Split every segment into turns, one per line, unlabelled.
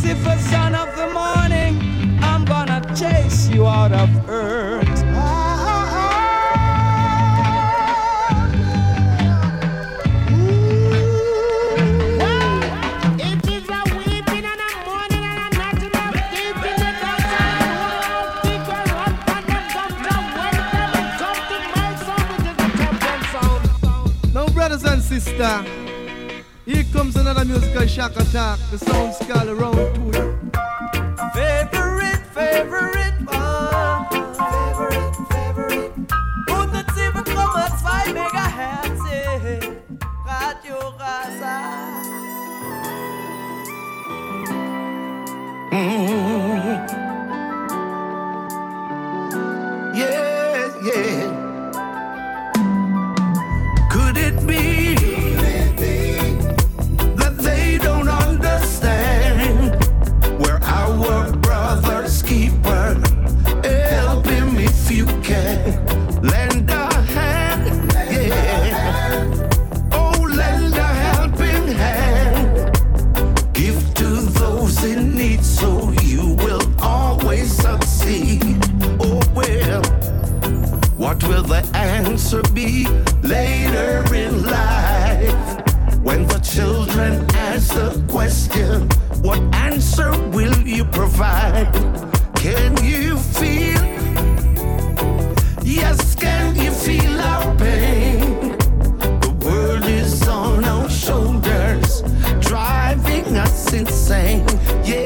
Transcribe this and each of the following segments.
Lucifer, son of the morning, I'm gonna chase you out of earth.
Brothers and sisters, here comes another musical shock attack. The sound skull around to you.
Favorite one. Favorite. 107,2 Megahertz. Radio Rasa.
Yeah. Could it be that they don't understand where our brother's keeper? Help him if you can. Lend a hand, yeah. Oh, lend a helping hand. Give to those in need so you will always succeed. Oh, well, what will the answer be later in life? When the children ask the question, what answer will you provide? Can you feel? Yes, can you feel our pain? The world is on our shoulders, driving us insane. Yeah.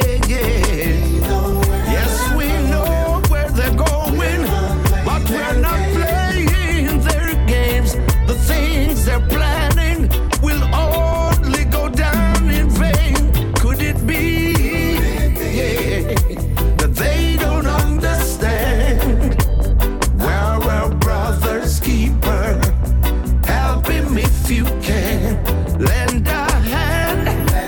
Yes, we know where they're going, but we're not playing their games. The things they're planning will only go down in vain. Could it be, yeah, that they don't understand? We're our brother's keeper. Help him if you can. Lend a hand.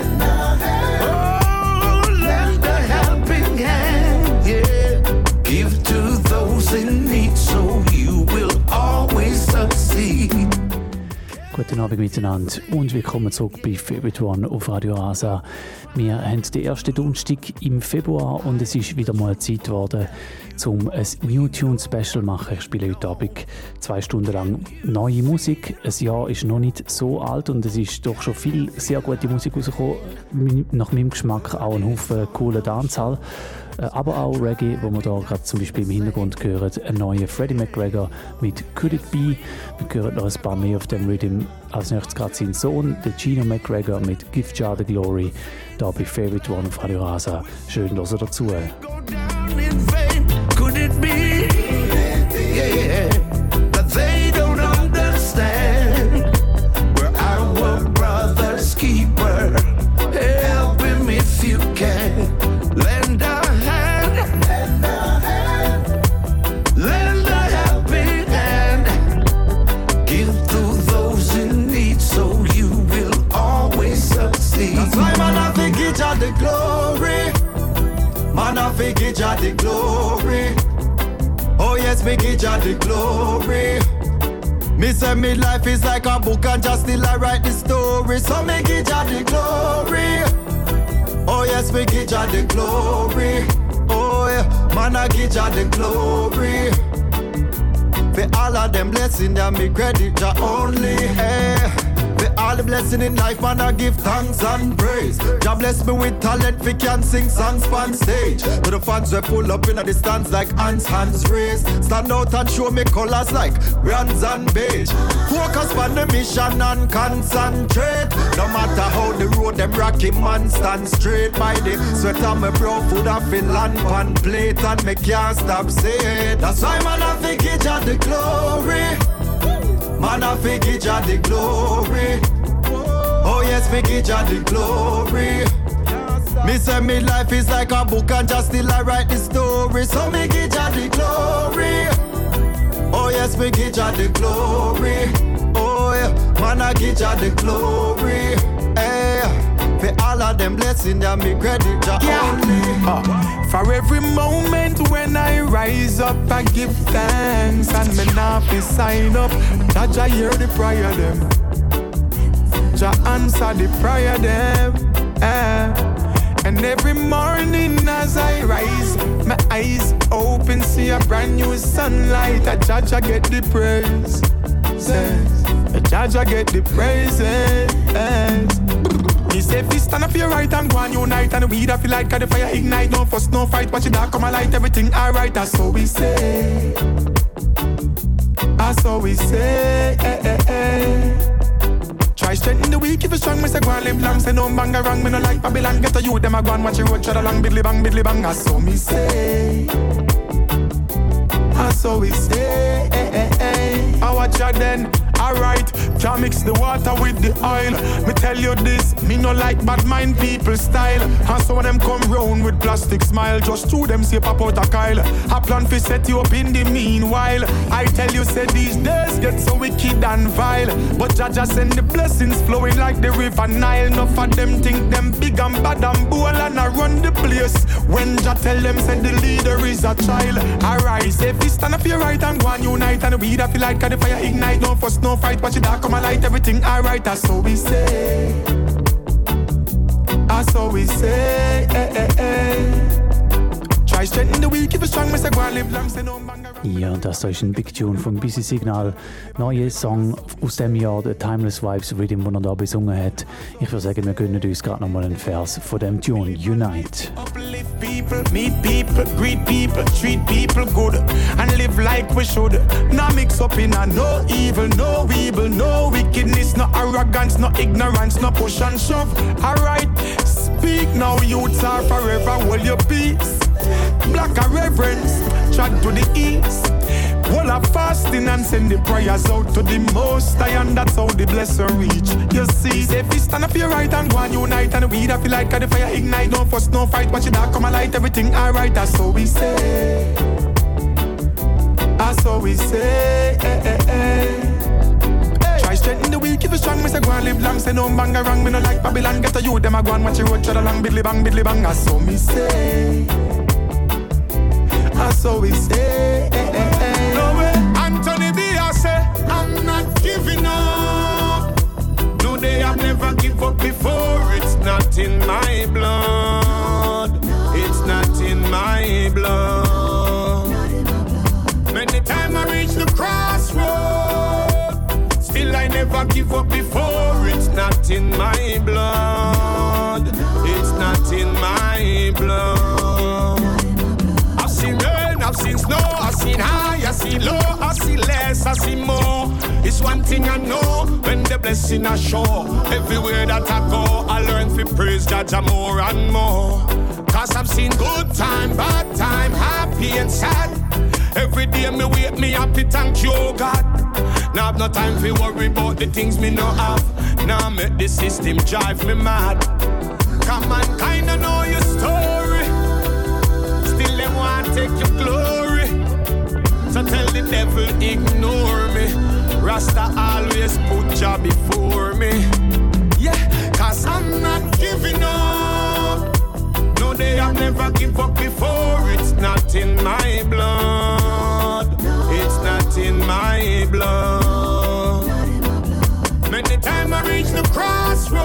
Oh, lend a helping hand, yeah. Give to those in need so you will always succeed.
Guten Abend miteinander und willkommen zurück bei Favorite One auf Radio Rasa. Wir haben den ersten Donnerstag im Februar und es ist wieder mal Zeit geworden, um ein New Tune Special zu machen. Ich spiele heute Abend 2 Stunden lang neue Musik. Ein Jahr ist noch nicht so alt und es ist doch schon viel sehr gute Musik rausgekommen. Nach meinem Geschmack auch ein Haufen cooler Dancehall. Aber auch Reggae, wo wir da gerade zum Beispiel im Hintergrund hören, ein neuer Freddie McGregor mit Could It Be. Wir hören noch ein paar mehr auf dem Rhythm. Als nächstes gerade sein Sohn, der Gino McGregor mit Give Jah the Glory, da bei Favorite One auf Radio Rasa. Schön, dass ihr dazu.
Could it be, yeah, that they don't understand? We're our brother's keeper. Help him if you can. Lend a hand. Lend a helping hand. Give to those in need so you will always succeed.
That's why man I think give Jah the glory. Man I think give Jah the glory. Oh yes, me give Jah the glory. Me say me life is like a book and just still I write the story. So me give Jah the glory. Oh yes, me give Jah the glory. Oh yeah, man I give Jah the glory. For all of them blessings that me credit Jah only. Hey. For all the blessing in life, man, I give thanks and praise. Jah bless me with talent, we can sing songs on stage. To the fans we pull up in the stands like hands raised. Stand out and show me colors like bronze and beige. Focus on the mission and concentrate. No matter how the road them rocky, man stand straight. By the sweat on my brow, food and fill and pan plate, and me can't stop saying. That's why man I think give Jah the glory. Man I think give Jah the glory. Oh yes, me give Jah the glory. Me say me life is like a book and just still I write the story. So me give Jah the glory. Oh yes, me give Jah the glory. Oh yeah, man I give Jah the glory. Hey, for all of them blessings that me credit Jah only.
For every moment when I rise up, I give thanks and me not be sign up. Jah hear the prayer them. Jah answer the prayer them. And every morning as I rise, my eyes open, see a brand new sunlight. A Jaja get the praise. A Jaja get the praises. He say if you stand up your right and go and unite, and we da feel like the fire ignite. No fuss, no fight, watch it dark come a light. Everything alright, that's what we say. That's what we say. Try strengthen the weak, if you strong, me say go and live long. Say no bang around, me no like Babylon. Get a youth, them a go and watch your road, tread along, bidly bang. That's what me say. That's what we say. I watch ya then. Alright, can't mix the water with the oil. Me tell you this, me no like bad mind people style. And some of them come round with plastic smile. Just two them say pop out a Kyle. A plan fi set you up in the meanwhile. I tell you say these days get so wicked and vile. But Jaja send the blessings flowing like the river Nile. Enough of them think them big and bad and bold and I run the place. When Jah tell them say the leader is a child. Arise, if you stand up your right and go and unite. And we da feel like the fire ignite. No fuss, no fight, watch it dark come a light. Everything alright, that's what we say. That's what we say. Try strengthen the weak, if you strong, me say go and live long, say no bang around.
Ja, das ist ein Big Tune vom Busy Signal. Neuer Song aus dem Jahr, der Timeless Vibes Rhythm, den er da besungen hat. Ich würde sagen, wir gönnen uns gerade nochmal einen Vers von dem Tune, Unite.
Uplift people, meet people, greet people, treat people good, and live like we should. Now mix up in a no evil, no evil, no wickedness, no arrogance, no ignorance, no push and shove. Alright, speak now, youths are forever, hold your peace. Black a reverence, track to the east. Wall of fasting and send the prayers out to the most high, and that's how the blessing reach. You see, if you stand up your right and go and unite, and we da feel like the fire ignite. No fuss, no fight, watch it dark come a light. Everything alright, that's what we say. That's what we say. Try strengthen the weak, if you strong, me say go and live long. Say no bang around, me no like Babylon. Get a youth, them a go and watch your road, tread along, bidly bang. That's what me say. That's what we say.
No way, Anthony B. say I'm not giving up. No, they have never give up before. It's not in my blood. It's not in my blood. Many times I reach the crossroad, still I never give up before. It's not in my blood. It's not in my blood. I've seen rain, I've seen snow, I've seen high, I've seen low, I've seen less, I've seen more. It's one thing I know, when the blessing I show. Everywhere that I go, I learn to praise Jah more and more. Cause I've seen good time, bad time, happy and sad. Every day me wake me happy, thank you God. Now I've no time to worry about the things me no have. Now make the system drive me mad. Come on, kinda know your story. Still them want take your glory. So tell the devil ignore me. Rasta always put Jah before me. Yeah, cause I'm not giving up. No, they have never give up before. It's not in my blood. It's not in my blood. Many times I reach the crossroad,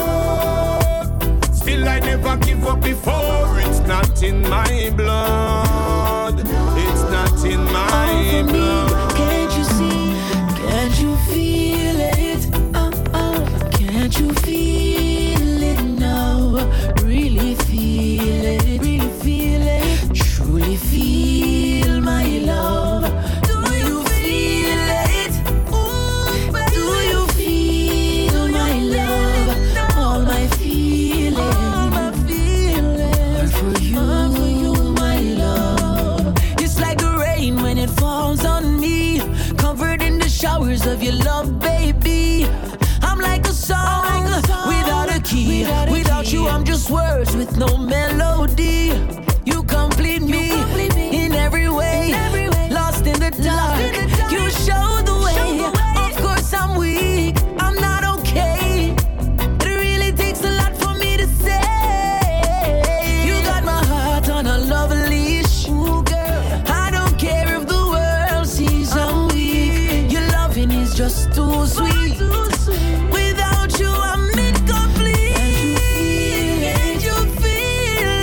still I never give up before. It's not in my blood. It's not in my blood.
Can't you see? Can't you feel it? Can't you feel it now? Really feel it? Really feel it? Truly feel my love. Do you feel it? Do you feel my love? All my feelings are for you, my love. It's like the rain when it falls on me, covered in the showers of your love, baby. I'm like a song without a key. Without you, I'm just words with no melody. You complete me in every way. Lost in the dark, you show the way. Of course I'm weak, I'm not okay. It really takes a lot for me to say. You got my heart on a love leash. Ooh, girl, I don't care if the world sees I'm weak. Your loving is just too sweet. Without you, I'm incomplete. Can't you feel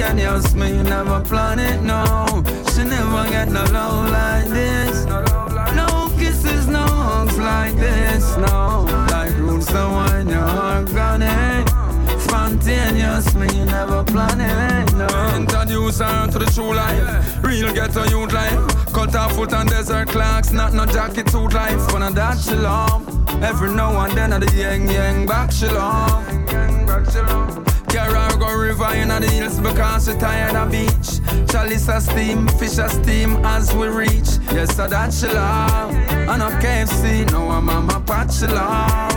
spontaneous, me never plan it, no. She never get no love like this. No kisses, no hugs like this, no. Like roots that wine, you're organic. Spontaneous, me never plan it, no. Introduce her to the true life. Real ghetto youth life. Cut her foot and desert clocks. Not no jacket suit life. But of that she love. Every now and then of the yang back she love. Carry her go river in the hills because she tired of beach. Chalice a steam, fish a steam as we reach. Yes, so that she love. And up KFC, no I'm mama pot she love.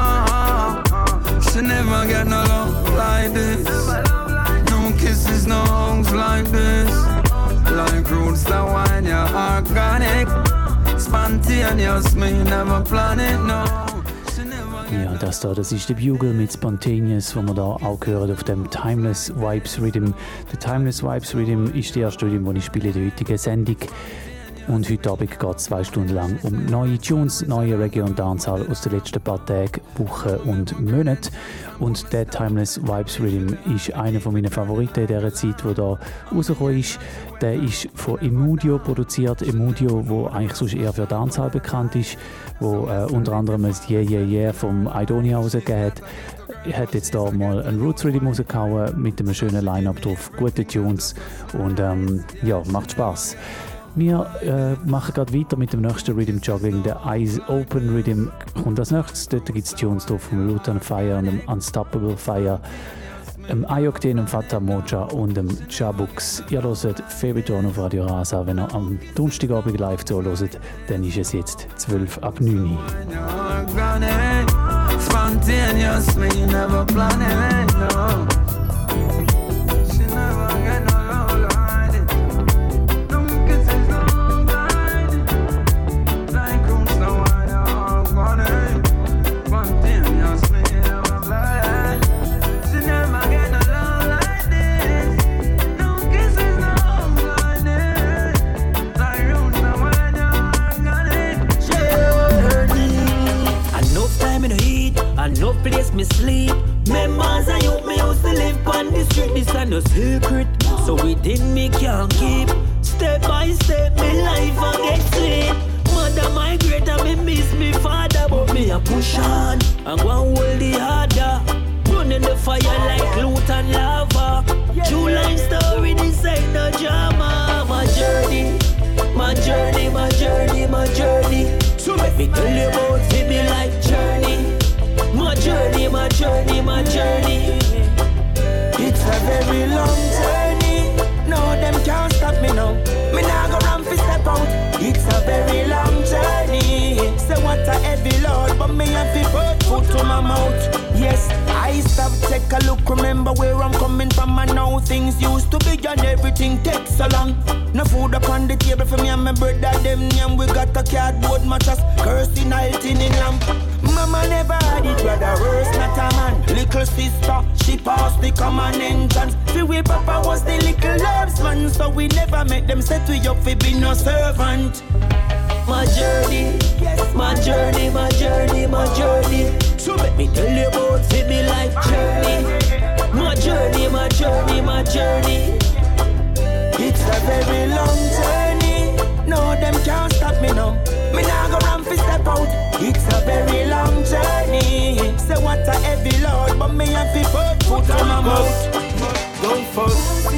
She never get no love like this. No kisses, no hugs like this. Like roots that wine, you're organic. Spontaneous, me never plan it, no.
Ja, das ist der Bugle mit Spontaneous, wo wir da auch hören auf dem Timeless Vibes Rhythm. Der Timeless Vibes Rhythm ist der erste Rhythm, den ich spiele in der heutigen Sendung. Und heute Abend geht es 2 Stunden lang um neue Tunes, neue Reggae und Dancehall aus den letzten paar Tagen, Wochen und Monaten. Und der Timeless Vibes Rhythm ist einer meiner Favoriten in dieser Zeit, der da rausgekommen ist. Der ist von Emudio produziert. Emudio, wo eigentlich sonst eher für Dancehall bekannt ist, wo unter anderem das Yeah Yeah Yeah vom Idonia rausgegeben hat. Er hat jetzt da mal einen Roots Rhythm rausgehauen mit einem schönen Line-Up drauf, gute Tunes und ja, macht Spaß. Wir machen gerade weiter mit dem nächsten Rhythm Juggling. Der Eyes Open Rhythm kommt als nächstes. Dort gibt es Tunes drauf vom Lutan Fire und dem Unstoppable Fire, dem Ayokten, dem Fata Mocha und dem Jabux. Ihr hört Favorite One auf Radio Rasa. Wenn ihr am Donnerstagabend live zuhört, dann ist es jetzt 12 ab 9 Uhr.
Spontaneous, me never plan it, no. She never get no love like it. No kisses, no like it. Like roots, no wine, you're organic. Spontaneous, me never plan it. She never get no love like this. No kisses, no like this. Like roots, no wine, you're organic.
Enough time in the heat, enough place me sleep. Members of youth me used to live on the street. This ain't no secret, so within me can't keep. Step by step, me life a get sweet. Mother migrate and me miss me father, but me a push on and go and hold the harder. Running the fire like loot and lava. True life story, this ain't no drama. My journey, my journey, my journey, my journey. So let me tell you about me life journey. My journey, my journey, my journey.
It's a very long journey. No, them can't stop me now. Me nah go run fi step out. It's a very long journey. Say what a heavy load, but me have to put foot to my mouth. Yes, I stop, take a look, remember where I'm coming from. And now things used to be and everything takes so long. No food upon the table for me and my brother, them and we got a cardboard mattress, cursing halting in lamp. Mama never had it, brother, worse not a man. Little sister, she passed the common entrance. See we papa was the little loves man, so we never make them set we up for be no servant.
My journey, yes, my journey, my journey, my journey. So let me tell you about me life journey. My journey, my journey, my journey.
It's a very long journey. No, them can't stop me now. Me nah go run fi step out. It's a very long journey. Say what a heavy load, but me have to put foot on my mouth. Go first.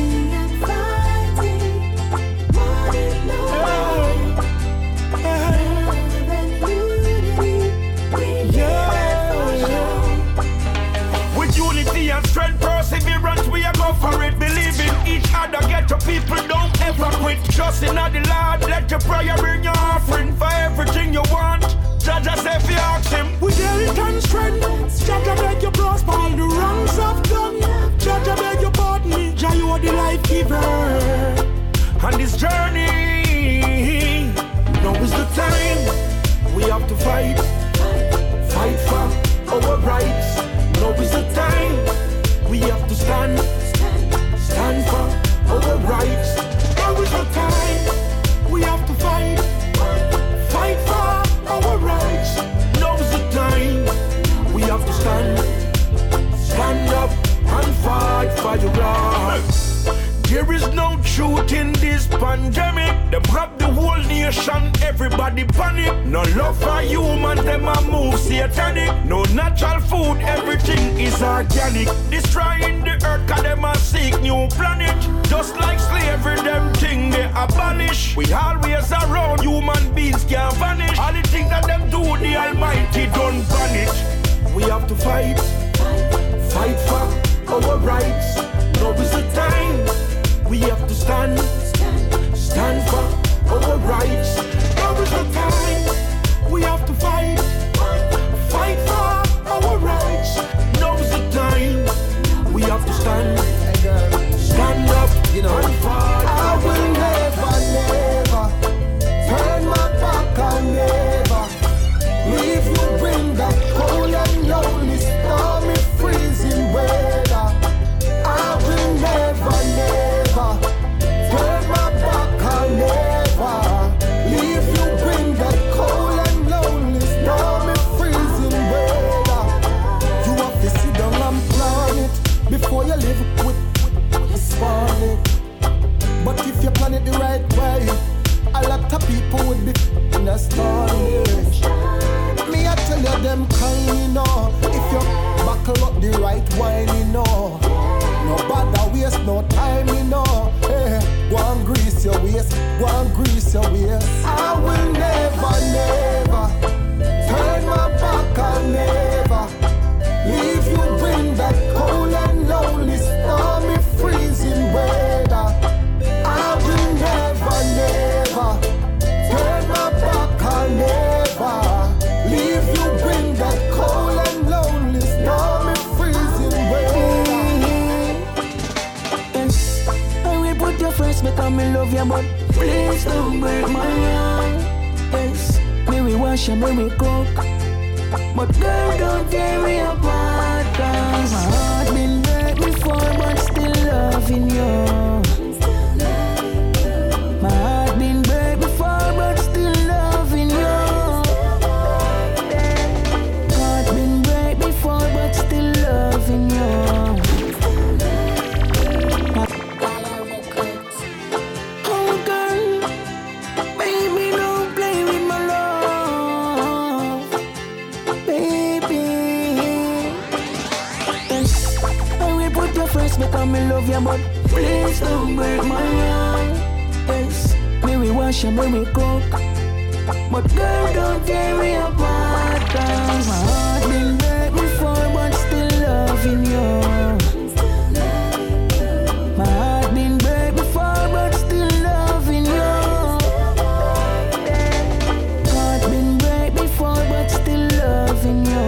With unity and strength, perseverance, we are go for it. Believe in each other, get to people, don't ever quit. Trust in the Lord, let your prayer bring your offering for everything you want. Judge us if you ask him. With health and strength, Judge I beg you prosper all the wrongs I've done. Judge I beg you pardon me, Jah you are the life giver. On this journey, now is the time we have to fight. Fight for our rights. Now is the time we have to stand. Stand for our rights. Now is the time we have to fight. Fight for our rights. Now is the time we have to stand. Stand up and fight for your rights. this pandemic. Them grab the whole nation, everybody panic. No love for human, them a move satanic. No natural food, everything is organic. Destroying the earth, cause them a seek new planet. Just like slavery, them thing they abolish. We always around, human beings can't vanish. All the things that them do, the Almighty don't vanish. We have to fight for our rights. Now is the time. We have to stand for our rights. Now is the time. We have to fight for our rights. Now is the time. We have to stand up, you know, and fight.
I will never turn my back on never leave you in that cold and lonely, stormy, freezing weather. I will never turn my back on never leave you in that cold and lonely, stormy, freezing weather. You have to sit down and plan it before you live with it. But if you plan it the right way, a lot of people would be astonished. Me, I tell you them kind, you know. If you buckle up the right wine, you know. No bother waste no time, you know. Hey, go and grease your waist, go and grease your waist. I will never turn my back on never leave you in that cold and lonely, stormy, freezing weather. I will never turn my back on never leave you in that cold and lonely, stormy, freezing weather.
Yes, I will put you first because me love you, but please don't break my heart. Yes, me we wash and me we cook, but girl don't tear me apart. Cause my heart been break before, but still loving you. My heart been break before, but still loving you. Heart been break before, but still loving you. Oh girl, baby, don't play with my love, baby. Yes, I will put you first because me love you, but please don't break my heart. Yes, me we wash and me we cook, but girl don't tear me apart. Cause my heart been break before, but still loving you. My heart been break before, but still loving you. Heart been break before, but still loving you.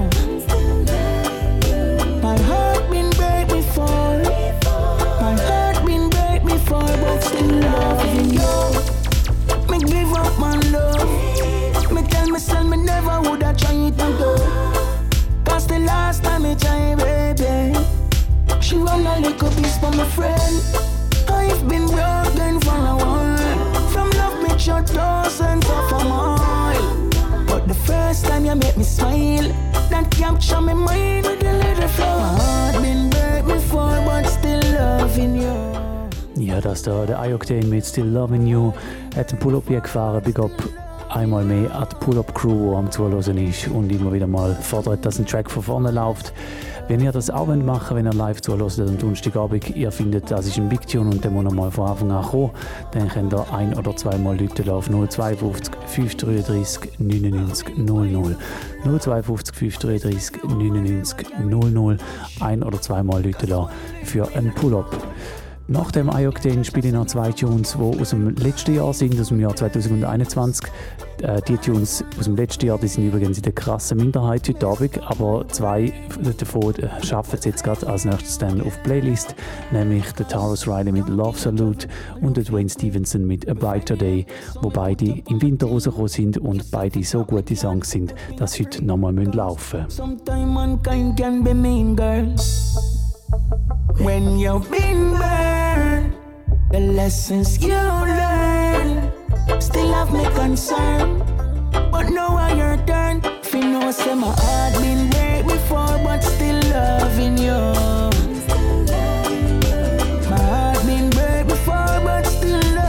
My heart been break before. My heart been break before, but still loving you. Me give up my love. Me tell myself me never woulda try it again. Cause the last time me try, baby, she run a little piece for my friend. I've been broken for a while. From love me shut thousands of a mile. But the first time you make me smile, that capture me mind with a little flow. My heart been break before, but still loving you.
Ja, das da, der Ioctane mit Still Loving You, hat den Pull-Up hier gefahren. Big up einmal mehr an die Pull-Up-Crew, die am Zuhören ist und immer wieder mal fordert, dass ein Track von vorne läuft. Wenn ihr das auch machen wollt, wenn ihr live zuhört am Donnerstagabend, ihr findet, das ist ein Big Tune und der muss mal von Anfang an kommen, dann könnt ihr ein- oder zweimal Leute auf 052 533 99 00. 052 533 99 00. Ein- oder zweimal Leute für einen Pull-Up. Nach dem Ioctane spiele ich noch zwei Tunes, die aus dem letzten Jahr sind, aus dem Jahr 2021. Die Tunes aus dem letzten Jahr, die sind übrigens in der krassen Minderheit heute Abend, aber zwei davon schaffen es jetzt gerade als nächstes dann auf die Playlist, nämlich der Tarrus Riley mit Love Salute und der Dwayne Stevenson mit A Brighter Day, wo beide im Winter rausgekommen sind und beide so gute Songs sind, dass sie heute nochmal laufen müssen.
Sometimes mankind can be mean, girl. When you've been burned, the lessons you learn still have me concerned. But now I your turn. If you know, say my heart been break before, but still loving you. My heart been break before, but still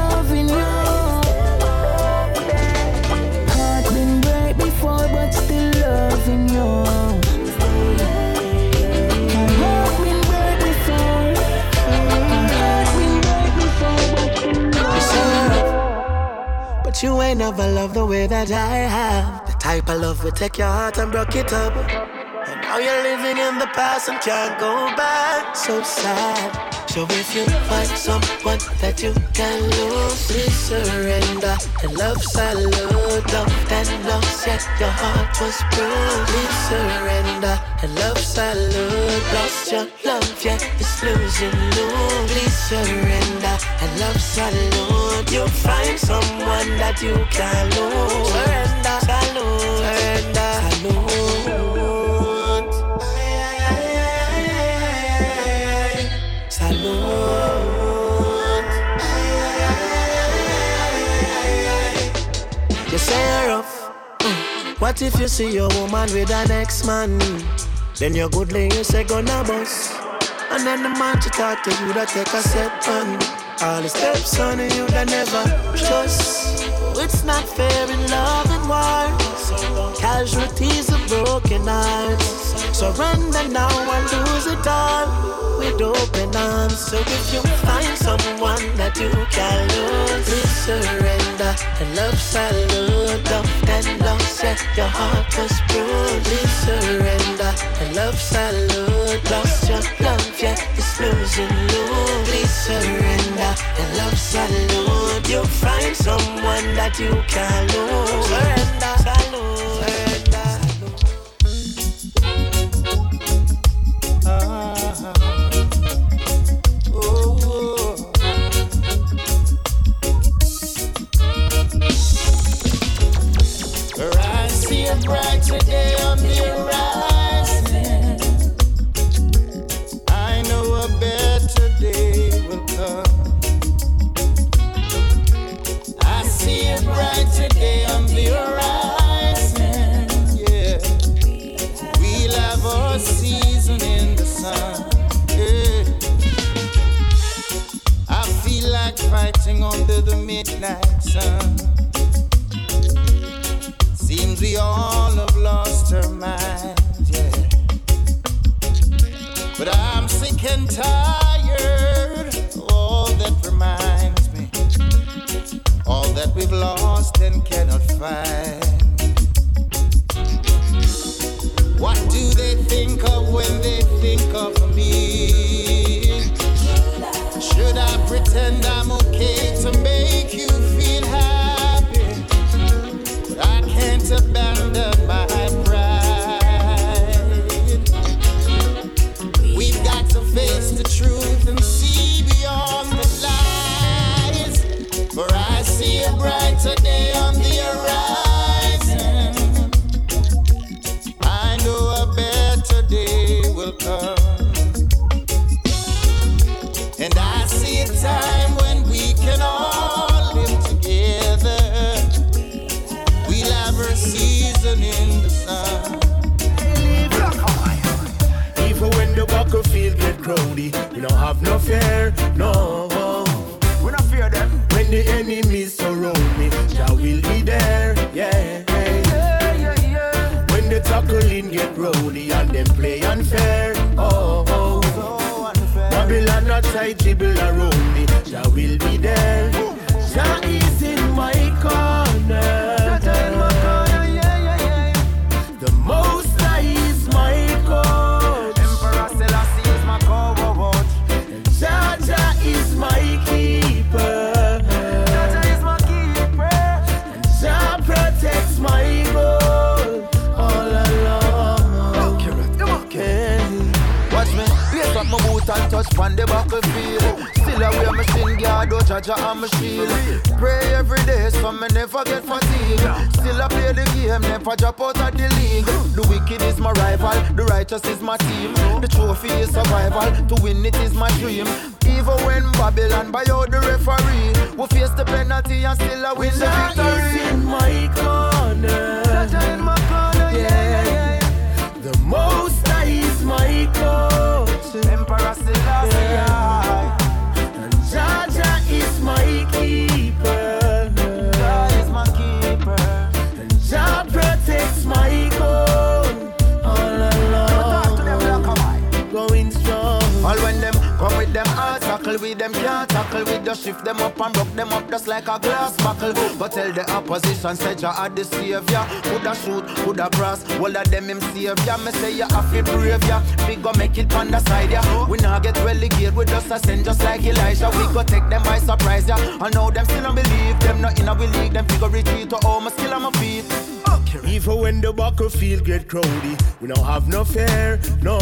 never loved the way that I have. The type of love will take your heart and break it up. And now you're living in the past and can't go back. So sad. So if you find someone that you can lose, please surrender. And love salute, loved and lost, yet your heart was bruised. Please surrender. And love salute, lost your love, yet it's losing you. Please surrender. And love salute, you'll find someone that you can lose. Surrender, salute, surrender, salute. You say rough. What if you see your woman with an ex-man? Then you're goodly, you say gonna bust. And then the man to talk to you that take a step on. All the steps on you that never trust. It's not fair in love and war. Casualties of broken hearts. Surrender now and lose it all with open arms. So if you find someone that you can lose, please surrender. And love salute, loved and lost, yet your heart was bruised. Please surrender. And love salute, lost your love, yet it's losing you. Please surrender. And love salute, you'll find someone that you can lose. Surrender, salute, surrender.
A brighter day on the horizon. I know a better day will come. I see a brighter day on the horizon. Yeah, we'll have our season in the sun. Yeah, I feel like fighting under the midnight sun. Seems we all have lost our minds, yeah. But I'm sick and tired of all that reminds me, all that we've lost and cannot find. What do they think of when they think of me? Should I pretend I'm okay to make you feel happy? I can't abandon my pride. We've got to face the truth and see beyond the lies. For I see a brighter day on the horizon. I know a better day will come. And I see a time when we can all live together. We'll season in the sun. Even when the battlefield get crowded, we don't have no fear, no. We don't fear them. When the enemies surround me, Jah will be there, yeah. When the tackling get rowdy and them play unfair, oh. Babylon not tight, dribble around me, Jah will be there. Jah is in my corner. The Most High is my coach. Emperor Selassie is my coach. And Jaja is my keeper. Jaja is my keeper. And Jah protects my goal all along. Okay. Watch me, place up my boot and touch on the battlefield. Still I wear my shin guard, oh Jaja and my shield. Pray every day so me never get fatigued. Still I play the game, never drop out of the league. The wicked is my rival, the righteous is my team. The trophy is survival, to win it is my dream. Even when Babylon buy out the referee, we face the penalty and still I win the victory. In my corner, in my corner, yeah. The Most High is my coach. Emperor Selassie, and Jaja is my keeper. Jah is my keeper. And Jah protects my goal all along. Going strong. All when them come with them hearts,
tackle with them, can't tackle with the shift them up and broke them up just like a glass buckle. But tell the opposition, said you are the savior. Coulda shoot, coulda cross, all of them him savior. Me say you have to brave ya, we go make it on the side ya. We not get relegated, we just ascend just like Elijah. We go take them by surprise ya. I know them still don't believe, them not in a we league. Them figure retreat to all my skill on my feet.
Even when the battlefield get crowded, we don't have no fear, no.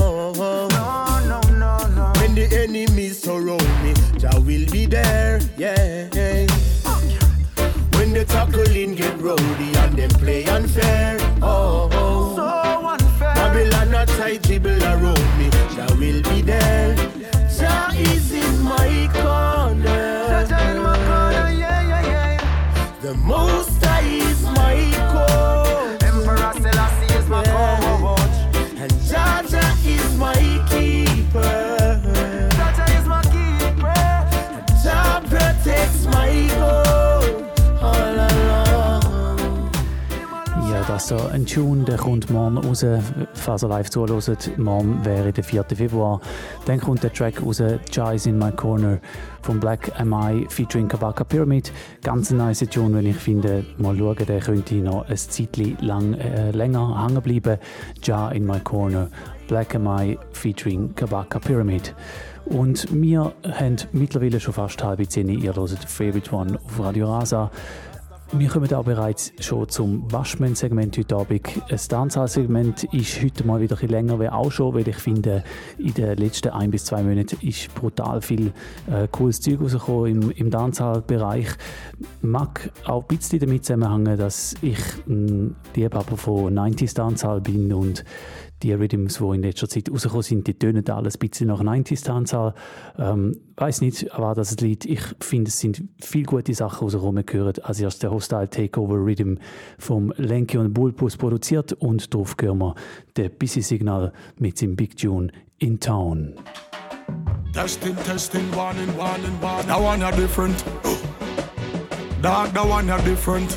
When the enemies surround me, Jah will be there, yeah. When the tackling get rowdy and them play unfair, oh.
So unfair.
Babylon a tight dribble around me, Jah will be there. Jah is in my corner.
Jah in my corner, yeah.
The Most High is my coach.
Emperor Selassie is my coach.
And Jah is my keeper.
Jah is my keeper.
And Jah protects my goal all along.
Ja, das so ein Tune, der kommt morgen raus, falls ihr live zuhört. Morgen wäre der 4. Februar. Dann kommt der Track raus, Jah is in my corner, von Black M.I. featuring Kabaka Pyramid. Ganz ein nice Tune, wenn ich finde. Mal schauen, der könnte noch ein Zeitchen länger hängen bleiben. Jah in my corner, Black M.I. featuring Kabaka Pyramid. Und wir haben mittlerweile schon fast 9:30. Ihr hört Favorite One auf Radio Rasa. Wir kommen auch bereits schon zum Waschmann-Segment heute Abend. Das Dancehall-Segment ist heute mal wieder ein bisschen länger, wie auch schon, weil ich finde, in den letzten 1 bis 2 Monaten ist brutal viel cooles Zeug rausgekommen im Dancehall-Bereich. Mag auch ein bisschen damit zusammenhängen, dass ich ein Liebhaber von 90s Dancehall bin und die Rhythms, die in letzter Zeit rausgekommen sind, die tönen alles ein bisschen nach 90s Dancehall. Weiss nicht, aber das Lied, ich finde, es sind viele gute Sachen rausgekommen. Wir hören als erstes der Hostile Takeover Rhythm vom Lenky und Bullpuss produziert und darauf hören wir den Busy Signal mit seinem Big Tune In Town.
Testing, warning. That one are different. That one are different.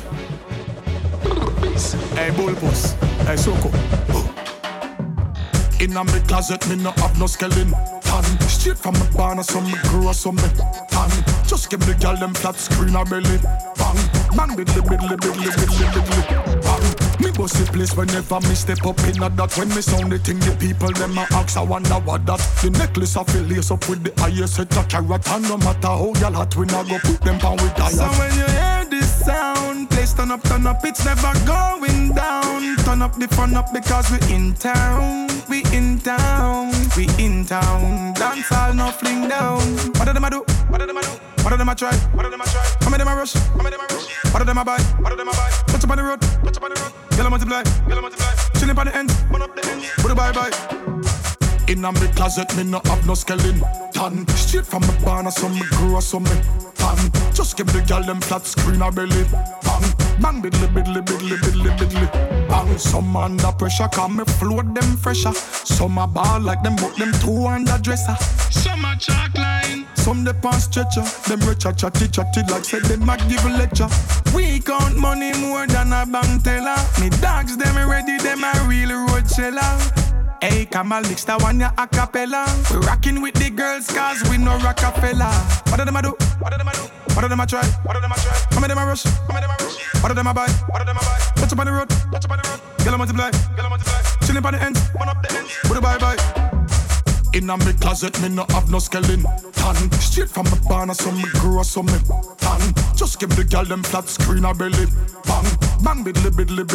Hey, Bullpuss. Hey, Soko. In a me closet, me no have no skeleton. Straight from my barn, so me grow so me tan. Just give the girl them flat screen a belly. Bang, bang, biddly. Bang, me bust the place whenever me step up in a that. When me sound the thing, the people them a ask, I wonder what that. The necklace I feel lace up with the highest set of carrot. And no matter how y'all hot, we not go put them down with diet.
So when you hear this sound, please turn up, it's never going down. Turn up the fun up because we in town. We in town. Dance all no fling down. What do them a do? What do them a try? How many them a rush? What do them a buy? Touch up on the road. Yellow multiply. Chilling on the end. Burn up the end. Put a bye. In a me closet, me no have no skeleton. Straight from my barn, so me grow so me tan. Just give the girl them flat screen a belly. Bang, biddly. Bang, some under pressure, come me float them fresher. Some a ball like them, but them 2 under dresser. Some a chalk line, some the pants stretcher. Them richer chatty like said them a give a lecture. We count money more than a bank teller. Me dogs them ready, them a real road seller. Hey, Kamal, mix that one ya a cappella. We rockin' with the girls cause we no Rockefeller. What do them a do? What do them a try? How many them a rush? What do them a buy? Touch up on the road. Yellow multiply. Chillin' on the ends. Burn up the ends. Put a bye. In a me closet, me no have no skeleton. Straight from my barn, so me grow so me tan. Just give the girl them flat screen a belly. Bang, biddly.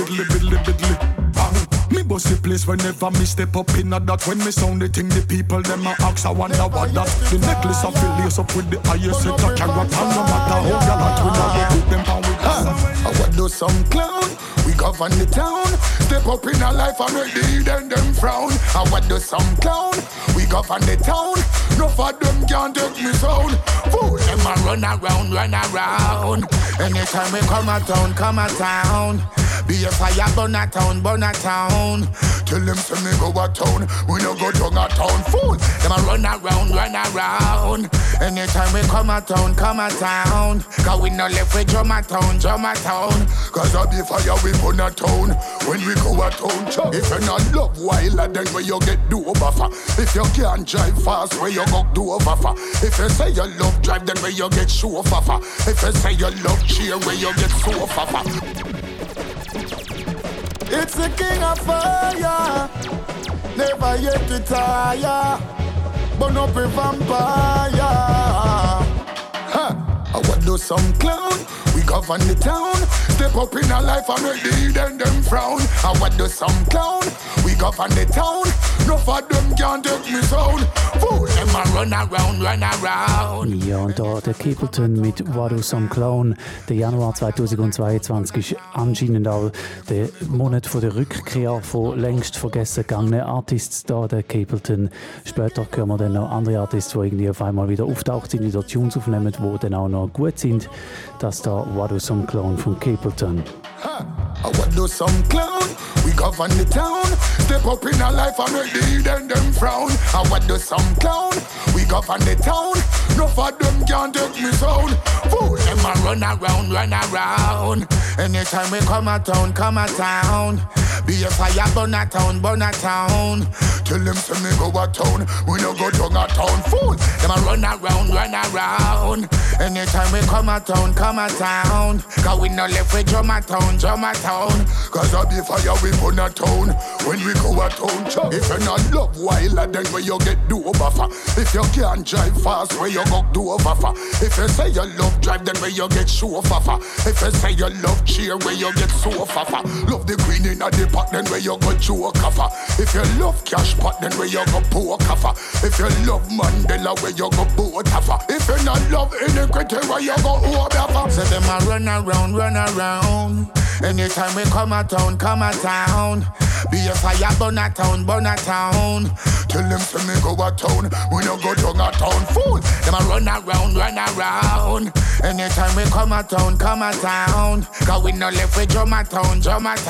Bang, me bust the place whenever me step up in a that. When me sound the thing, the people them a ask, I wonder what that. The necklace I feel lace up with the highest set of carrot. And no matter how y'all hot, we not go put them down with us.
I want do some clown. We govern the town. Step up in a life and make the hidden them frown. I want do some clown. We govern the town. No for them can't take me sound. Fool them a run around. Anytime we come a town.
Be a fire, burn a town, burn a town. Tell them say me go a town, we no go down a town. Fool, them a run around, run around. Anytime we come a town, cause we no left with drum a town. Cause I be fire, we burn a town. When we go a town, if you not love wild, then where you get do over for. If you can't drive fast, where you go do over for. If you say you love drive, then where you get show over for. If you say you love cheer, where you get so over for.
It's the king of fire, never yet to tire, burn up a vampire. I want do some clown, we govern the town. Step up in our life and make the hidden them frown. I want do some clown, we govern the town. No for them can't take me sound. Fool, them a run around.
Ja, und da der Capleton mit What Do Some Clown. Der Januar 2022 ist anscheinend auch der Monat von der Rückkehr von längst vergessen gegangenen Artists da, der Capleton. Später hören wir dann noch andere Artists, die irgendwie auf einmal wieder auftaucht sind, wieder Tunes aufnehmen, die dann auch noch gut sind. Das da What Do Some Clown von Capleton.
I want do some clown, we govern the town. Step up in our life and make the hidden them frown. I want do some clown, we govern the town. No for them can't take me sound. Fool, them a run around.
Anytime we come a town. Be a fire, burn a town.
Tell them say me go a town, we no go down a town. Fool,
them a run around. Anytime we come a town. Cause we no left with drum a town.
Cause I be fire, we burn a town. When we go a town, if you not love wild, then where you get do over for. If you can't drive fast, where you go do over for. If you say you love drive, then where you get show over for. If you say you love cheer, where you get so over for. Love the queen in a the pot, then where you go joke for. If you love cash pot, then where you go poke for. If you love Mandela, where you go boat for. If you not love iniquity, where you go over for.
So them a run around. Anytime we come a town. Be a fire, burn a town.
Tell them say me go a town, we no go down a town. Fool,
them a run around. Anytime we come a town. Cause we no left with drum a town.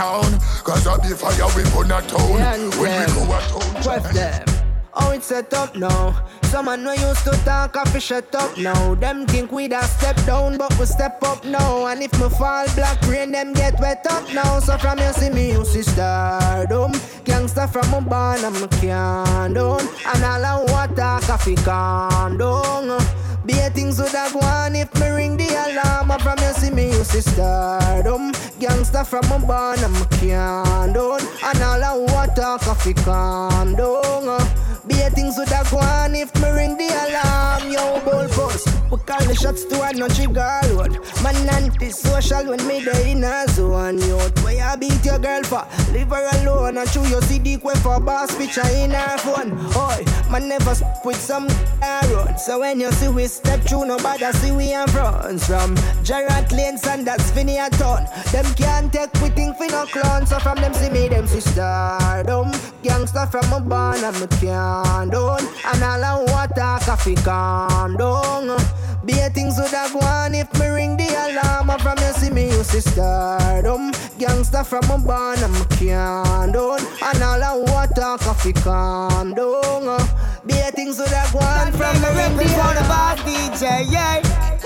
Cause I be fire, we burn a town. When we go a town,
what's them? Oh, it's set up now. Someone no used to talk, I fi shut up now. Them think we da step down, but we step up now. And if me fall black rain, them get wet up now. So from you see me, you see stardom. Gangster from my barn, I'm a can down. And all I want talk, I fi can down. Be a things would have gone if me ring the alarm. From you see me, you see stardom. Gangster from my barn, I'm a can down. And all I want talk, I fi can down. Be a things would have gone if me ring the alarm. Yo, bull boss, we call the shots to a no trigger road. Man anti-social when me dey in a zone. Yo, where you beat your girl for? Leave her alone and chew your CD quick for boss picture in her phone. Oi, man never with some road. So when you see we step through, nobody see we in front. From Gerard Lanes and that's Vinny a ton. Them can't take we think we no clown. So from them see me, them see stardom. Gangster from my barn and me can't down. And all I want talk, I fi calm down. Be a things would have gone if me ring the alarm. From you see me, you see stardom. Gangster from my barn and me can't down. And all I want talk, I fi calm down. Be a things would have gone from me ring the alarm.
DJ, yeah.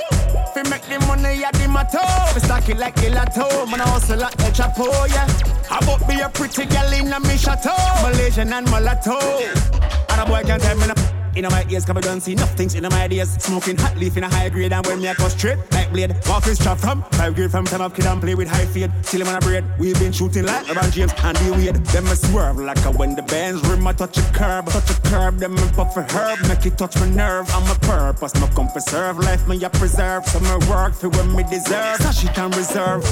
Fi make the money at the motto. We stack it like gelato. Man, I hustle like El Chapo, yeah. How about be a pretty girl in a me chateau? Malaysian and mulatto. And a boy can't tell me no in my ears, cause I don't see enough things in my ideas. Smoking hot leaf in a high grade, and when me I go straight like blade. Walking strap from 5 grade from time of kid and play with high fade. Till him on a braid, we've been shooting like LeBron James and D Wade. Them a swerve like a when the bands rim I touch a curb. Them and puff a herb, make it touch my nerve. I'm a purpose, no come preserve. Life me I preserve, so me work for when me deserve. Stash it and reserve.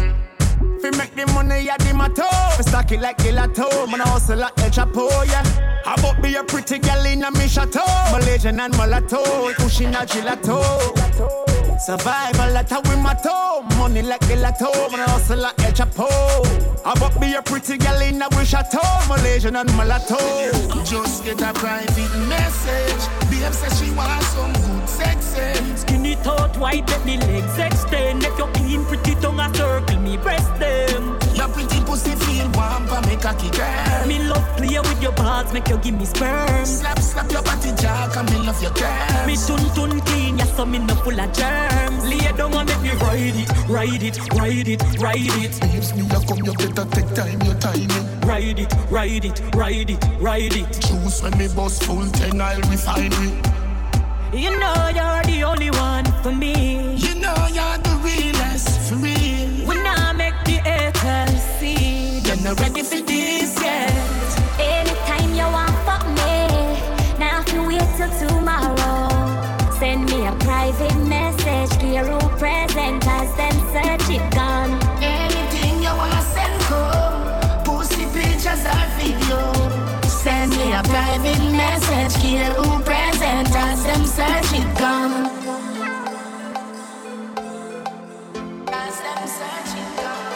Fi make the money at the motto. We stack it like gelato. Man, I hustle like El Chapo, yeah. How about be a pretty girl in a me chateau? Malaysian and mulatto, pushing a gelato. Survival at a win my toe. Money like the lotto. When I hustle like El Chapo. I bought me a pretty girl in a chateau. Malaysian and mulatto.
Just get a private message. Babe says she wants some good sex.
Skinny thought white, let me legs extend. If you're clean, pretty tongue a circle, me breast them.
Your pretty pussy feel warm, but make a kick girl.
Me love play with your balls, make you give me sperm.
Slap your body jack and me love your girl.
Me tun clean, yeah, so me no full of germs. Lay down and make me ride it, ride it, ride it, ride it.
Babes, me a come, you better take time, your timing.
Ride it, ride it, ride it, ride it.
Choose when me bust full 10, I'll refine it.
You know you're the only one for me.
You know you're the realest, for real.
When I make the haters see,
you're not ready for this yet.
Anytime you want fuck me, now if you wait till tomorrow, send me a private message, clear who present as them search it gone.
Anything you wanna send home, pussy pictures or video.
Send me a private message, clear who present as them search it gone. As them search it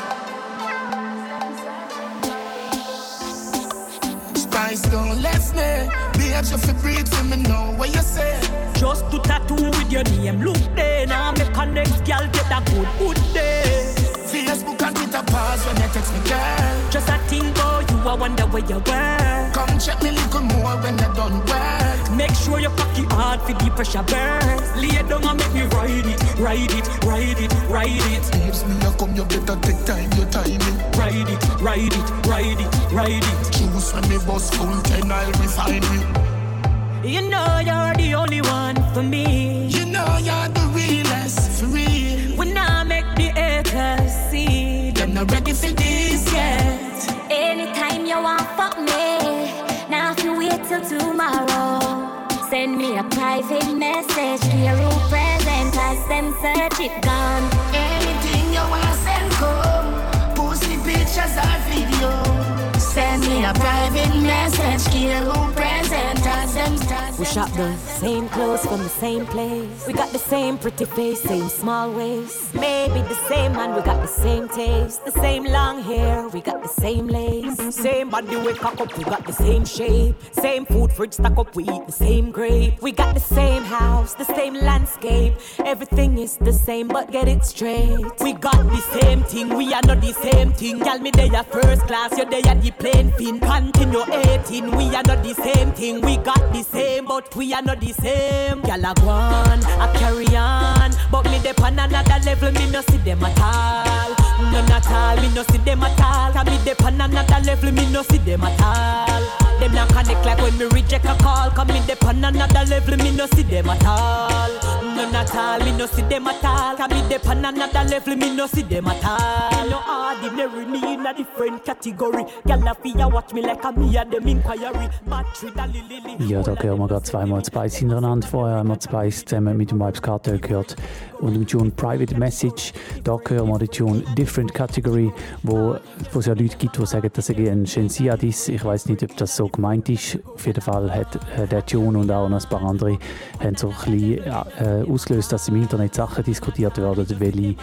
gone. Spice don't let me. Babes, you feel breathe for me, know what you say.
Just to tattoo with your name, look there. Now make a next girl get a good day.
Facebook and Twitter pause when you text me, girl.
Just a thing about you, I wonder where you were.
Come check me little more when you done work.
Make sure you cocky hard for the pressure burn. Lay down and make me ride it, ride it, ride it, ride it.
Babes, me a come, you better take time, your timing.
Ride it, ride it, ride it, ride it.
Choose when me bust full 10, I'll refine it.
You know you're the only one for me.
You know you're the realest, for real.
When I make the haters see,
they're not ready for this yet.
Anytime you want fuck me, now if you wait till tomorrow, send me a private message, clear who present as them search it gone.
Anything you wanna send home, pussy pictures or video.
Send me a private message, clear who present as them stars.
We shop the same clothes from the same place. We got the same pretty face, same small waist. Maybe the same man, we got the same taste. The same long hair, we got the same lace. Same body we cock up, we got the same shape. Same food fridge stack up, we eat the same grape. We got the same house, the same landscape. Everything is the same, but get it straight. We got the same thing, we are not the same thing. Y'all me there first class, you're there the plane fin. Continue 18, we are not the same thing. We got the same, but we are not the same. Y'all a go on, I carry on, but me dep on another level, me no see them at all. None at all, me no see them at all. Cause me dep on another level, me no see them at all. Them not connect like when me reject a call. Cause me dep on another level, me no see them at all. None at all, me no see them at all. Cause me dep on another level, me no see them at all. No ordinary, me in a different category. Y'all a fear watch me like a me and them inquiry. Battery da lili.
Ja, da hören wir gerade zweimal Spice hintereinander. Vorher haben wir Spice zusammen mit dem Vibes Cartel gehört und dem Tune Private Message. Da hören wir den Tune Different Category, wo es ja Leute gibt, die sagen, dass er ein Shensia-Diss. Ich weiß nicht, ob das so gemeint ist. Auf jeden Fall hat der Tune und auch noch ein paar andere haben so ein bisschen ausgelöst, dass im Internet Sachen diskutiert werden, welche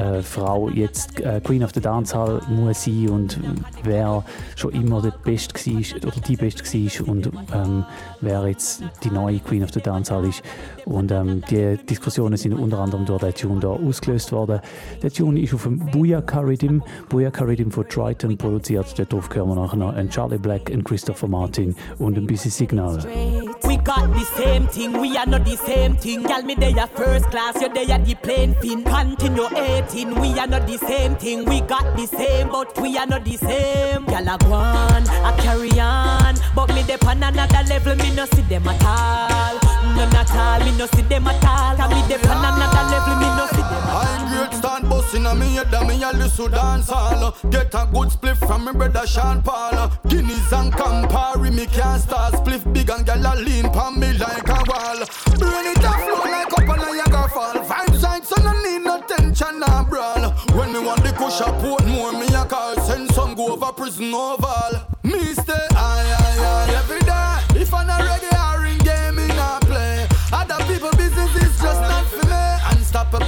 Frau jetzt Queen of the Dancehall muss sein und wer schon immer der Beste war oder die Beste war und wer jetzt die neue Queen of the Dancehall ist. Und die Diskussionen sind unter anderem durch den Tune da ausgelöst worden. Der Tune ist auf dem Booyaka Rhythm von Triton produziert. Darauf hören wir nachher noch einen Charlie Black, einen Christopher Martin und ein Busy Signal.
We got the same thing, we are not the same thing. Y'all me there first class, you're there the plane fin. Continue 18, we are not the same thing. We got the same, but we are not the same. Y'all a go on, I carry on, but me dep on another level, me no see them at all. None at all, me no see them at all. Cause me dep on another level, me no see them at all.
I'm great stand bustin' and me head and me a listen dance all. Get a good split from me brother Sean Paul. Guineas and Campari, me can't start split big and gyal a lean pon me like a wall. Brain it a flow like up on a Niagara fall. Vibes side so no need no tension or brawl. When me want the kush a port more, me a call send some go over prison oval. Me stay high every day. If I'm not reggae or in game, me not play. Other people business is just not for me. Unstoppable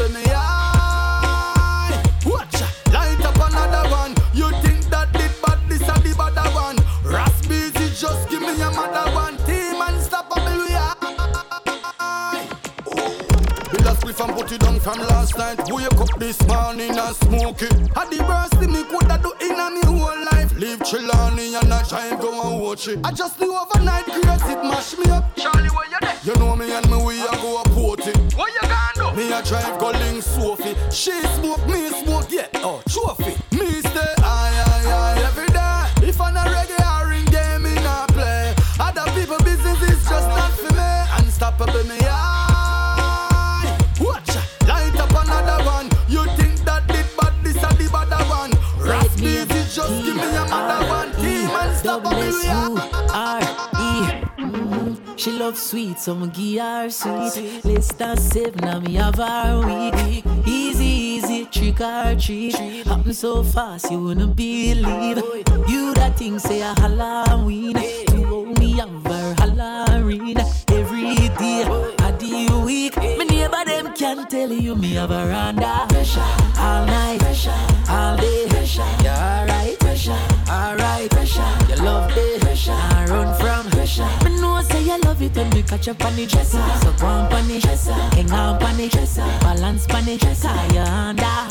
put it down from last night. Wake up this morning and smoke it. Had the worst thing me coulda do in a me whole life. Leave Chilani and I try and go and watch it. I just knew overnight grace it mash me up. Charlie, where you there? You know me and me we a go a party. What you gonna do? Me a drive go link Sophie. She smoke, me smoke, yeah. Oh, trophy. Me stay high every day. If I'm not reggae or ring game, me not play. Other people business is just not for me. Unstoppable me high. Watch, light up another one. You think that did bad, this a the better one. Rap music, just give me another one. Team unstoppable me high.
She loves sweet, so I'ma give her sweet. Less than 7, now me have her weed. Easy, trick or treat. Happen so fast, you wouldn't believe. You that thing say a Halloween. You owe me have her Halloween. Every day, a day week. My neighbor them can tell you me have her under. All night, all day. You alright, you love it. I run from. Me know say you love it when we catch up on the dresser. So go on on the dresser, hang on on the dresser, balance on the dresser. You under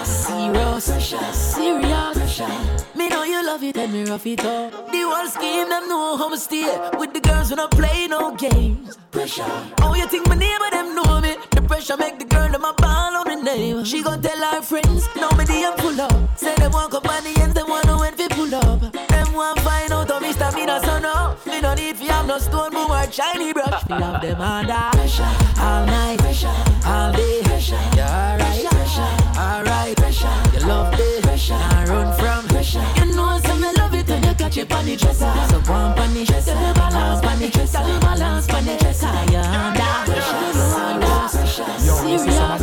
serious. Me know you love it and me rough it up. The whole scheme them know how me stay with the girls when I play no games. Oh, you think my neighbor them know me? The pressure make the girl them a ball on me name. She gon' tell her friends, now me DM pull up. Say them want come on the ends, them want know when we pull up. Them want find out how me stamina so no. Me no need fi have no stone boom or shiny brush. Me have them under all night, all day. You alright, you love it. I run from. You know some me love it when you catch it on the dresser. So go on the dresser, balance on the dresser, balance on the dresser. You under serious.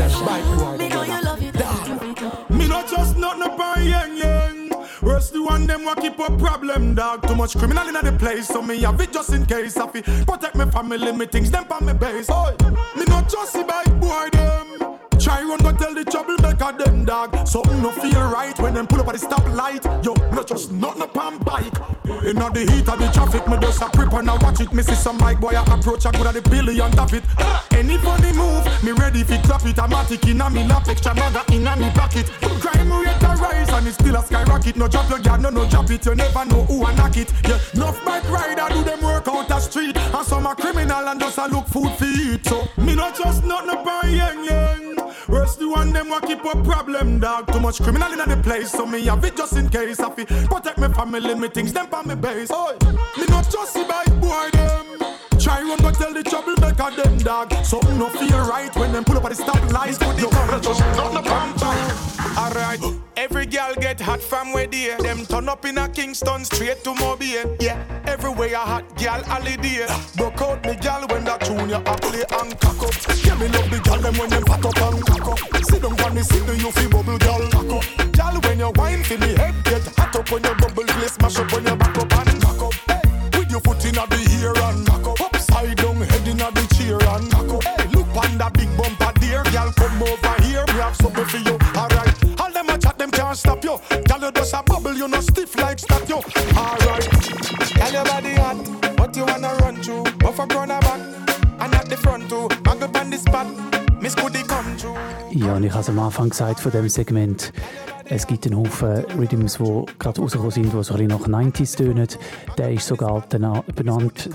Me know you love it.
Me not just nothing upon yang. Worse the one them wa keep up problem, dog. Too much criminal in the place, so me have it just in case. I fi protect my family, me things them on me base. Oi, me not just see bike boy them. Try run go tell the troublemaker them, dog. Something no feel right when them pull up at the stoplight. Yo, not just nothing upon bike. In the heat of the traffic, me just a prep and I watch it. Me see some bike boy I approach, I good at the billion of it. Any funny move, me ready fi clap it. Automatic in a me lap, extra maga in a me pocket. Crime rate a rise and it's still a skyrocket. No drop your guard, no drop it. You never know who a knock it. Yeah, enough bike rider do them work out the street, and some a criminal and just a look food for eat. So me not just nothing upon yang. Worse the one them wa keep up problem, dog. Too much criminal in the place, so me have it just in case. I fi protect my family, me things them on me base. Oi, me not just see bike boy them. Try run go tell the troublemaker them, dog. Something no feel right when them pull up at the stoplight. Yo, just nothing upon bike. Alright, every girl get hot from where they. Them turn up in a Kingston straight to Mobile. Yeah, everywhere a hot girl holiday. Broke out me girl when that tune you a play and cock up. Yeah, me love the girl them when them fat up and cock up. Sit down on the seat, do you feel bubble girl cock up. Girl when you wine feel the head get hot up when you bubble place mash up when you back up and cock up. Hey, with your foot in the ear and cock up. Upside down head in the chair and cock up. Hey, look on that big bumper there. Girl come over here, we have something for you. Alright. Them can't stop you. Girl, you just a bubble, you no stiff like statue. Alright. Girl, your body hot, but you wanna run through. Off a corner back, and at the front too. Mag up on the spot, Miss Goody come through.
Ja, und ich habe es am Anfang gesagt von diesem Segment, es gibt einen Haufen Rhythms, die gerade rausgekommen sind, die so ein bisschen nach 90s tönen. Der ist sogar danach benannt,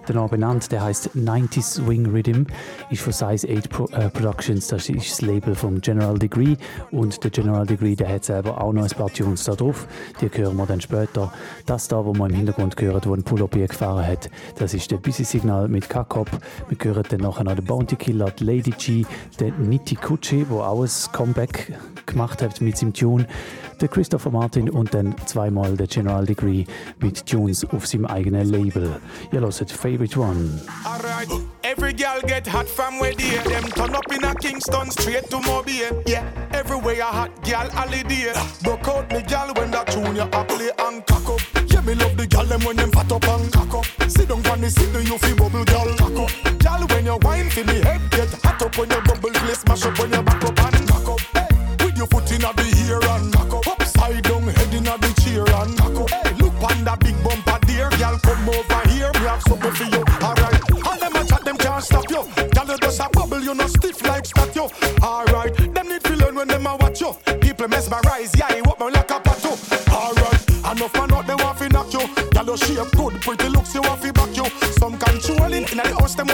der heisst 90s Swing Rhythm, ist von Size 8 Productions, das ist das Label vom General Degree. Und der General Degree, der hat selber auch noch ein paar Tunes da drauf, die hören wir dann später. Das da, wo man im Hintergrund hört, wo ein Pull-Up gefahren hat, das ist der Busy Signal mit Kakop. Wir hören dann nachher noch den Bounty Killer, die Lady G, den Nitty Kutschi, der auch ein Comeback gemacht hat mit seinem Tune, der Christopher Martin und dann zweimal der General Degree mit Tunes auf seinem eigenen Label. Ihr hört Favorite One.
Alright, every girl get hot from where they. Them turn up in a Kingston straight to Mobile. Yeah, everywhere a hot girl holiday. Broke out me girl when that tune you a play and cock up. Yeah, me love the girl them when them fat up and cock up. Sit down on the seat, do you feel bubble girl cock up. Girl when you wine feel the head get hot up when you bubble place mash up when you back up and cock up. Hey, with your foot in the ear and cock up. Upside down head in the chair and cock up. Hey, look on that big bumper there, girl come over here, we have something for you. Alright, all them a chat them can't stop you. Girl you just a bubble, you no stiff like statue.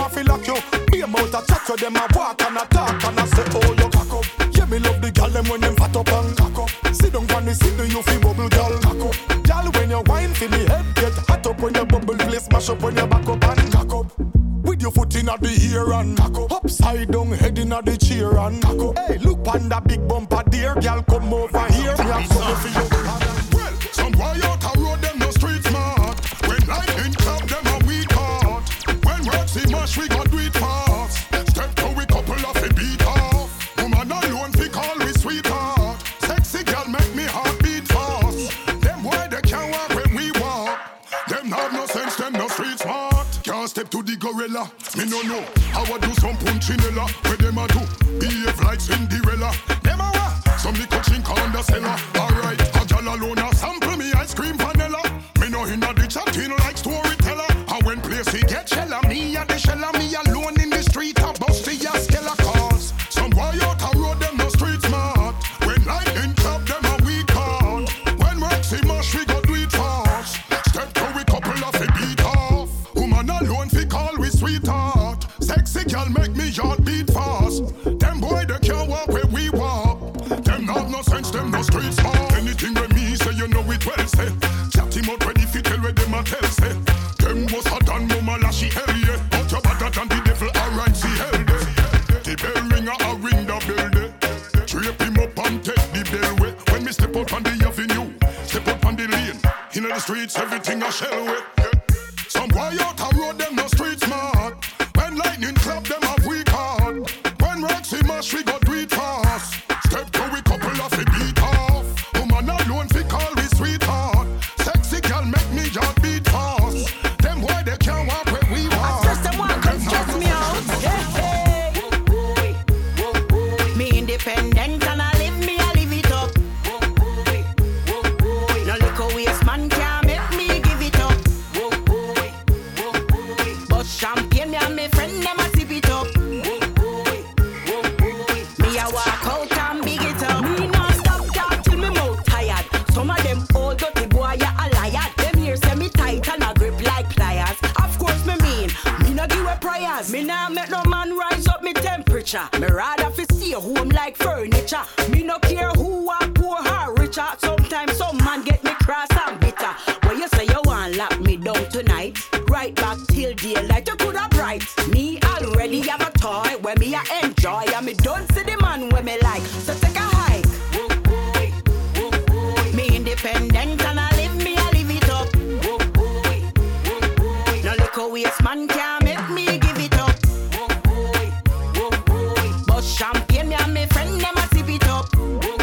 want to lock you. Be about a chat to them, I walk and I talk and I say, oh, you cock up. Yeah, me love the gal, them when them fat up and cock up. Sit down on the seat, you feel bubble, gal, cock up. Gal, when you wine, feel the head get hot up. When you bubble, play smash up when you back up and cock up. With your foot in the ear and cock up. Upside down, head in the chair and cock up. Hey, look on that big bumper there, gal, come over here. Me have something for you. Well, some boy out a road, them no street smart. When lightning club, them a weak heart. When work see mash, we got do it fast. Step to we couple of a beat off. Woman alone fi call we sweetheart. Sexy girl make me heart beat fast. Them boy they can't walk when we walk. Them have no sense, them no street smart. Can't step to the gorilla. Me no know how I do some punchinella. Where them a do behave like Cinderella. Them a what? Some little chink on the cellar. Alright, a girl alone a sample me ice cream vanilla. Me no inna the chatting like storyteller. And when place he get shella, me a the shella. Me alone in the street a bust the skella cause. Some boy out a road them no street smart. When lightning clap them a weak heart. When work see mash we go do it fast. Step to we couple of a beat off. Woman alone fi call we sweetheart. Sexy girl make me heart beat fast. Them boy they can't walk where we walk. Them have no sense, them no street smart. Anything with me say you know it well say. Chat him out ready fi tell where them a tell say. Them was hot and mama lashy hell yeah. But you better than the devil alright see hell day. The bell ringer a ring the bell day. Drape him up and take the bell way. When me step out on the avenue, step up on the lane. Inna the streets everything a shell way. Some boy out a road them no street smart. When lightning clap them have weak heart. When rocks see mash we go do it fast. Step to we couple of a beat off. Woman alone fi call we sweetheart. Sexy girl make me heart beat fast. Them boy they can't walk where we walk.
I stress them one come stress me out. Hey, hey. Me independent and I live me, I live it up. No little waste man can't make me give it up. But champagne me and my friend them a sip it up. Me a walk out and big it up. Me non stop talk till me mouth tired. Some of them old dirty boy a liar. Them here say me tight and a grip like pliers. Of course me mean, me no give a priors. Me nah make no man rise up me temperature. Me rather fi stay home like furniture. Me no care who are poor or richer. Sometimes some man get me cross and bitter. When you say you want lock me down tonight, right back till daylight you coulda bright. Me already have a toy where me a enjoy. And me don't see the man where me like. So take a hike. Me independent and I live me, I live it up. No little waste man can't make me give it up. But champagne me and my friend them a sip it up.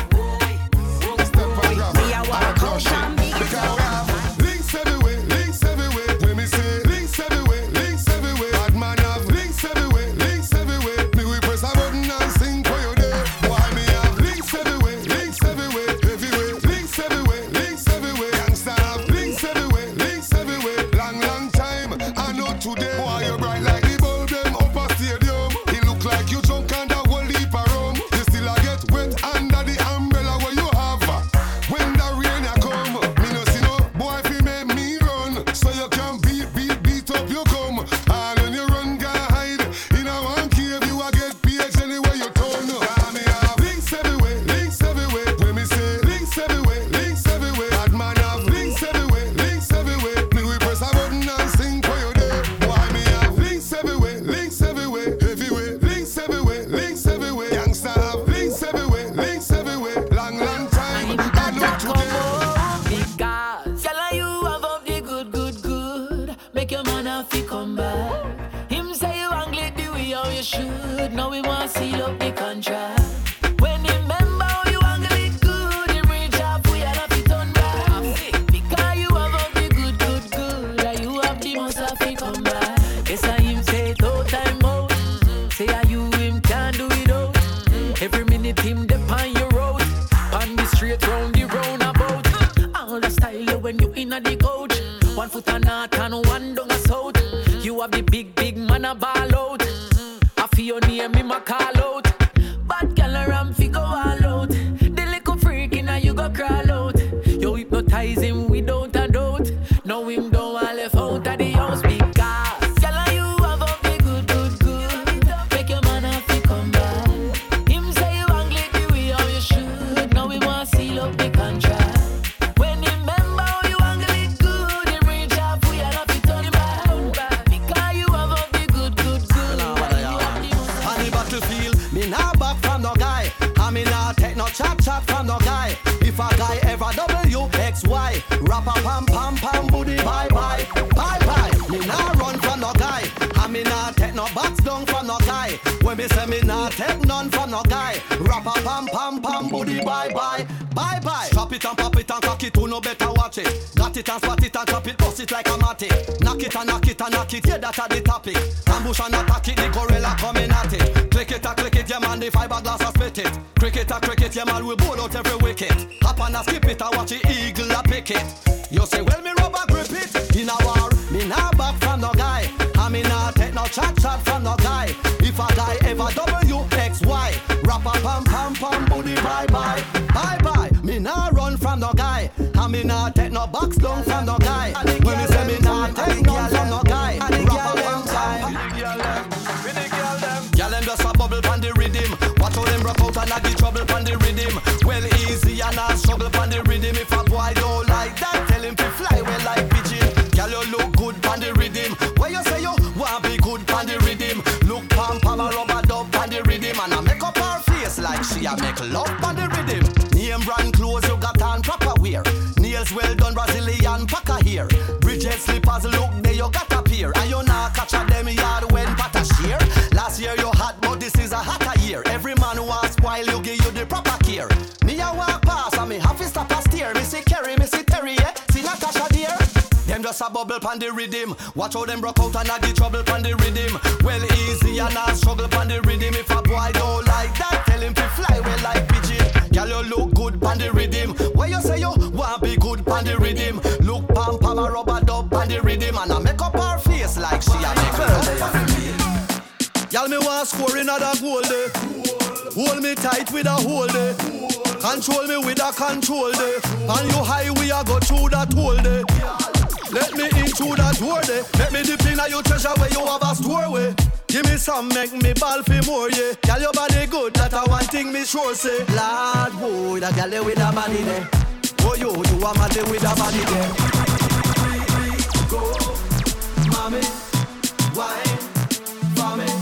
Me a walk out and big it up.
Links everywhere, when me say links everywhere, bad man have links everywhere, me we press a button and sing for you there. Why me have links everywhere, everywhere, links everywhere, youngster have links everywhere, long time, I know today. Why you bright like the bulb them up a stadium, it look like you drunk and a whole heap of rum. You still a get wet under the umbrella where you have, when the rain a come, me no see no boy fi make me run, so you can beat up you come, and when you run go hide, in a one cave you a get PH anywhere you turn. Me have links everywhere, when me say links everywhere, bad man have links everywhere, me we press a button and sing for you there. Why me have links everywhere, everywhere, links everywhere, youngster have links everywhere, long time, I know today.
Because girl, you have up the good. Make your man have to come back. Him say you angle the way how you should. Now we want to seal up the contract. When you remember how you angle it good, him reach out for you and have to turn back. Because you have up the good. And you have the most have to come back. Yes, I him say no time out. Say are you him can't do it out. Every minute him dep on your road. On the straight round the roundabout. All the style when you inna the coach. 1 foot a north and 1 down a south. You have the big man a ball out. I feel your name in my call out. Bad girl around fi go all out. The little freak inna you go crawl out. You hypnotize him without a doubt. Now him don't want left out of the house because girl you have up the good.
guy. Rapper pam pam pam booty bye bye. Bye bye. Me nah run from no guy. And me nah take no box down from no guy. When me say me nah take none from no guy. Rapper pam pam pam booty bye bye. Bye bye. Strap it and pop it and cock it. Who no better watch it. Got it and spot it and chop it. Bust it like a matic. Knock it and knock it and knock it. Yeah, that's the topic. Ambush and attack it. The gorilla coming at it. Click it, yeah man. The fiberglass a split it. Cricket, yeah man. We bowl out every wicket. Hop and a skip it and watch the eagle a pick it. You say, well, me rubber grip it. In a war, me nah back from no guy. And me nah take no chat from no guy. If a guy ever WXY, rapper pam pam pam booty bye bye. Bye bye. Me nah run from no guy. And me nah take no box down from no guy. When me say me nah take none from no guy. Rapper pam pam. Y'all them just a bubble pan the rhythm. Watch how them rock out and I get trouble pan the rhythm. Well easy and I struggle pan the rhythm. If a boy don't like that, tell him to fly well like pigeon. Girl you look good pan the rhythm. Why you say you want be good pan the rhythm? Look pam pam a rubber dub pan the rhythm. And I make up her face like she a make love pan the rhythm. Name brand clothes you got on proper wear. Nails well done Brazilian packer here. Bridget slippers look there you got a pair. And you not catch a them yard when pata shear. Last year you hot but this is a hotter year. Every man who wants spoil you give you the proper care. Me a walk past and me have to stop a steer. Me see Kerry, me see Terry, yeah. See Natasha dear. Them just a bubble pan the rhythm. Watch how them broke out and I get trouble pan the rhythm. Well easy and I struggle pan the rhythm. If a boy don't like that, tell him to fly well like pigeon. Girl you look good pan the rhythm. Why you say you want be good pan the rhythm? Look pam pam a rubber dub pan the rhythm. And I make up her face like she a make love. Y'all me want score another goal day. Hold me tight with a hold day. Control me with a control day. And you high we a go through that hole day. Let me in through that door day. Let me dip in a your treasure where you have a store way. Give me some, make me ball for more, yeah. Girl your body good, that a one thing me sure say. Lord boy, that girl with a body there. Oh you a mad with a body there. Go, mommy, wine for me.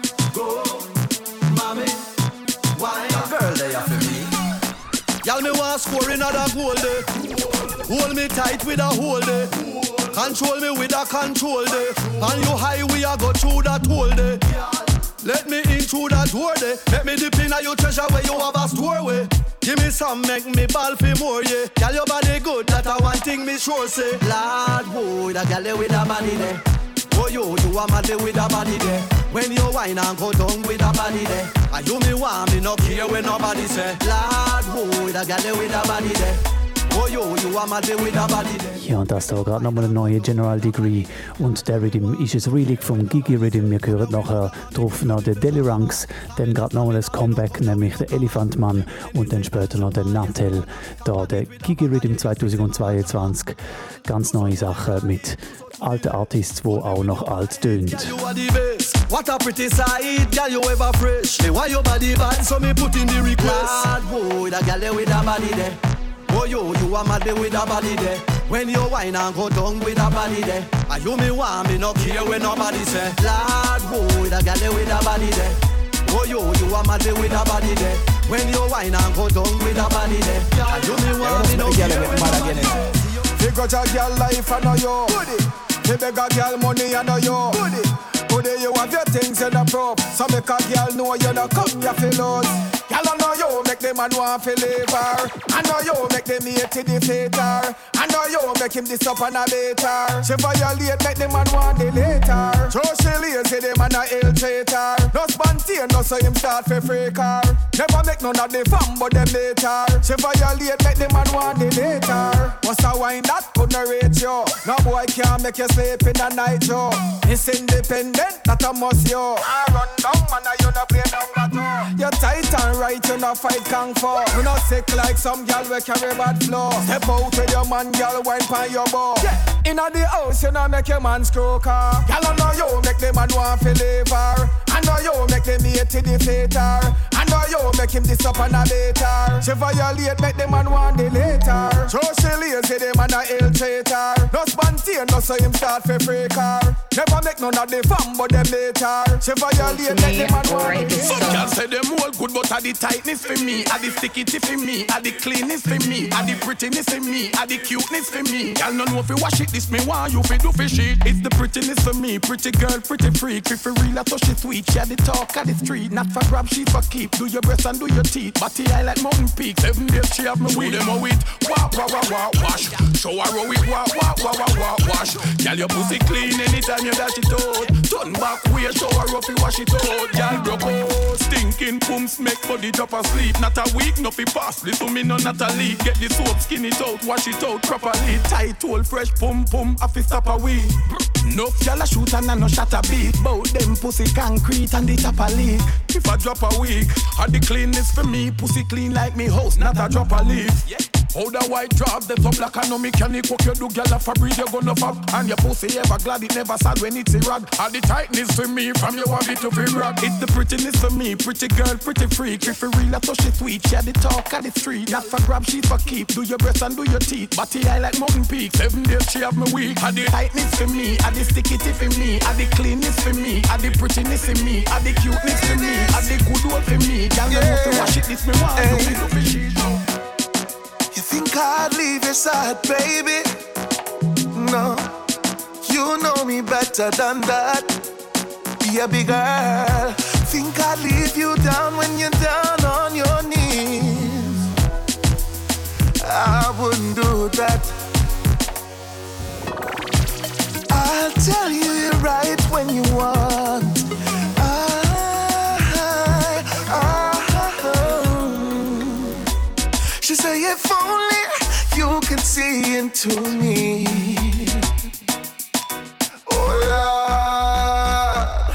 Y'all me want score another goal day. Hold me tight with a hold day. Control me with a control day. And you high we a go through that hole day. Let me in through that door day. Let me dip in a your treasure where you have a store way. Give me some, make me ball for more, yeah. Girl your body good, that a one thing me sure say. Lord boy, that girl with a body there. Oh you a mad with a body there. When you whine and go down with a body there. And you me want me no care when nobody say. Lord boy, that girl with a body there. Oh you a mad with a body there.
Ja, und das da gerade nochmal eine neue General Degree. Und der Rhythm ist ein Relic vom Gigi Rhythm. Wir hören nachher drauf noch den Deli Ranks, dann gerade nochmal das Comeback, nämlich der Elephant Man und dann später noch den Natel. Da der Gigi Rhythm 2022. Ganz neue Sachen mit alten Artists, die auch noch alt tönt.
What a pretty sight, girl you ever fresh. Me why your body bad, so me put in the request. Lord boy, that girl with a body there. Oh you a mad with a body there. When you whine and go down with a body there. And you me want me no care when nobody say. Lord boy, that girl with a body there. Oh you a mad with a body there. When you whine and go down with a body there. And you me want me no care when nobody say.
Figure your girl life I know you. You beg a girl money I know you. Today you have your things in the prop. So make a girl know you not come your fellows. Girl I know you make the man want to leave her. I know you make them hate to defeat her. I know you make him this up and a later. She violate make the man want the later. So she lazy the man a ill traitor. No spontaneous no so him start for freak her. Never make none of the fun but them later. She violate make the man want the later. What's a wine that couldn't reach you? No boy can't make you sleep in the night yo. It's independent that a must yo. I run down man you no play number two. You're tight and right you no fight kung fu. You no sick like some girl we carry bad flow. Step out with your man girl wine pan your bow. Yeah. Inna the house you no make your man screw car. Girl I know you make the man want to leave her. I know you make them hate to defeat her. I Remember you make him this up on a later. She violate, make the man want the later. So she lazy, the man a ill traitor. No spontaneous, no so him start for free car. Never make none of the fun, but them later. She violate, make the man want the later. Some girls say them all good, but are the tightness for me, are the stickity for me, are the cleanness for me, are the prettiness for me, are the cuteness for me. Y'all don't know if you wash it, this me want you fi do fi shit. It's the prettiness for me, pretty girl, pretty freak. If you real, I touch it sweet. She the talk of the street, not for grab, she for keep. Do your breasts and do your teeth, body high like mountain peak. 7 days she have me with them a wit. Wah wah wah wah wash. Show her how it wah wah wah wah wah wash. Girl your pussy clean anytime you dash it out. Turn back way, show her how you wash it out. Girl broke out, stinking pumps make body drop asleep. Not a week, no fi pass. Listen me no not a leak. Get the soap, skin it out, wash it out properly. Tight hole, fresh pum pum, I fi stop a week. No y'all a shoot and I no shot a beat. Bout them pussy concrete and the top a leak. If I drop a week, had the cleanness for me. Pussy clean like me house, not a drop a leaf. How the white drop, the so black and no mechanic. What you do, girl, for breathe, you gonna fuck. And your pussy ever glad, it never sad when it's a rag. Had the tightness for me, from your want it to be rock. It's the prettiness for me, pretty girl, pretty freak. If you real, I touch it sweet. She had the talk of the street. Not for grab, she for keep. Do your breasts and do your teeth. Body high like mountain peak. 7 days she have me weak. Had the tightness for me, had the stickity for me, had the cleanness for me, had the prettiness for me, had the cuteness for me, had the good one for me. Girl, you know to wash it, this me want. Do me do for shit.
You think I'd leave your side, baby? No, you know me better than that. Baby girl, think I'd leave you down when you're down on your knees? I wouldn't do that. I'll tell you you're right when you want. She say if only you can see into me. Oh Lord,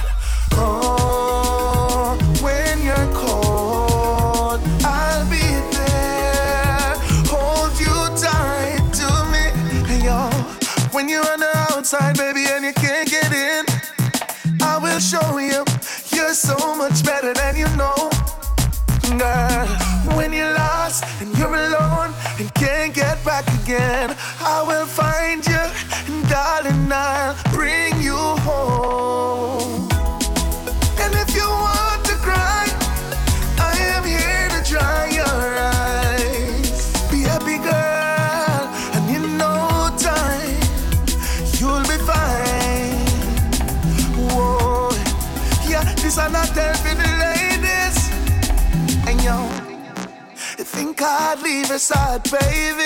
oh, when you're cold, I'll be there, hold you tight to me. Hey yo, when you're on the outside, baby, and you can't get in, I will show you you're so much better than you know. Girl, when you're lost and you're alone and can't get back again, I will find you, and darling, I'll bring you home. And if you want to cry, I am here to dry your eyes. Be happy, girl, and in no time you'll be fine. Whoa, yeah, this are not there for the ladies. And yo, you think I'd leave your side, baby?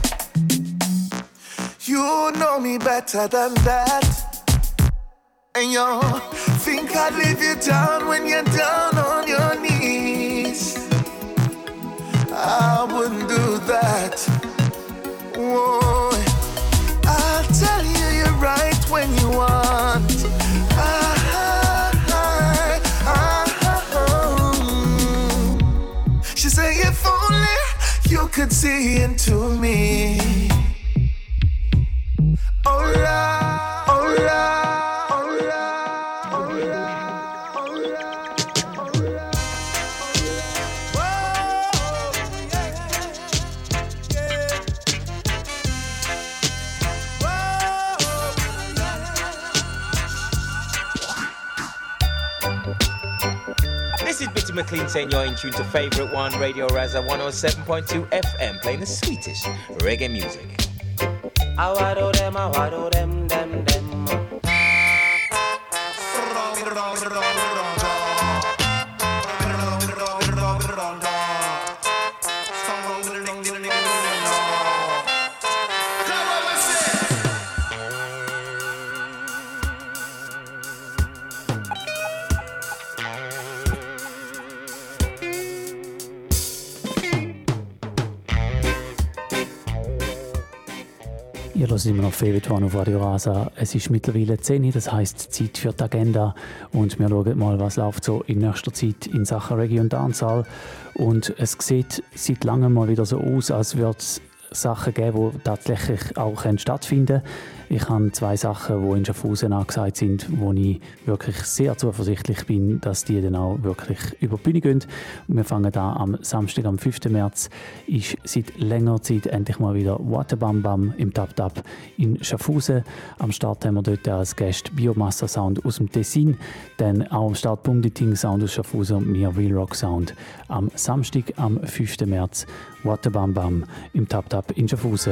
You know me better than that. And yo, think I'd leave you down when you're down on your knees? I wouldn't do that. Whoa, I'll tell you you're right when you want. She say if only you could see into me. Oh Lord, oh Lord, oh Lord, oh Lord, oh Lord.
This is Bitty McLean saying you're in tune to Favorite One, Radio Raza 107.2 FM, playing the sweetest reggae music.
I wado them, them.
Ihr hört immer noch Favorite One auf Radio Rasa. Es ist mittlerweile 10 Uhr, das heisst Zeit für die Agenda. Und wir schauen mal, was läuft so in nächster Zeit in Sachen Reggae und Dancehall. Und es sieht seit langem mal wieder so aus, als würde es Sachen geben, die tatsächlich auch stattfinden können. Ich habe 2 Sachen, die in Schaffhausen angesagt sind, wo ich wirklich sehr zuversichtlich bin, dass die dann auch wirklich über die Bühne gehen. Und wir fangen da am Samstag, am 5. März, ist seit längerer Zeit endlich mal wieder Waterbam Bam im Tap Tap in Schaffhausen. Am Start haben wir dort als Gast Biomassa Sound aus dem Tessin, dann auch am Start Bunditing Sound aus Schaffhausen und mir Real Rock Sound. Am Samstag, am 5. März, Waterbam Bam im Tap Tap in Schaffhausen.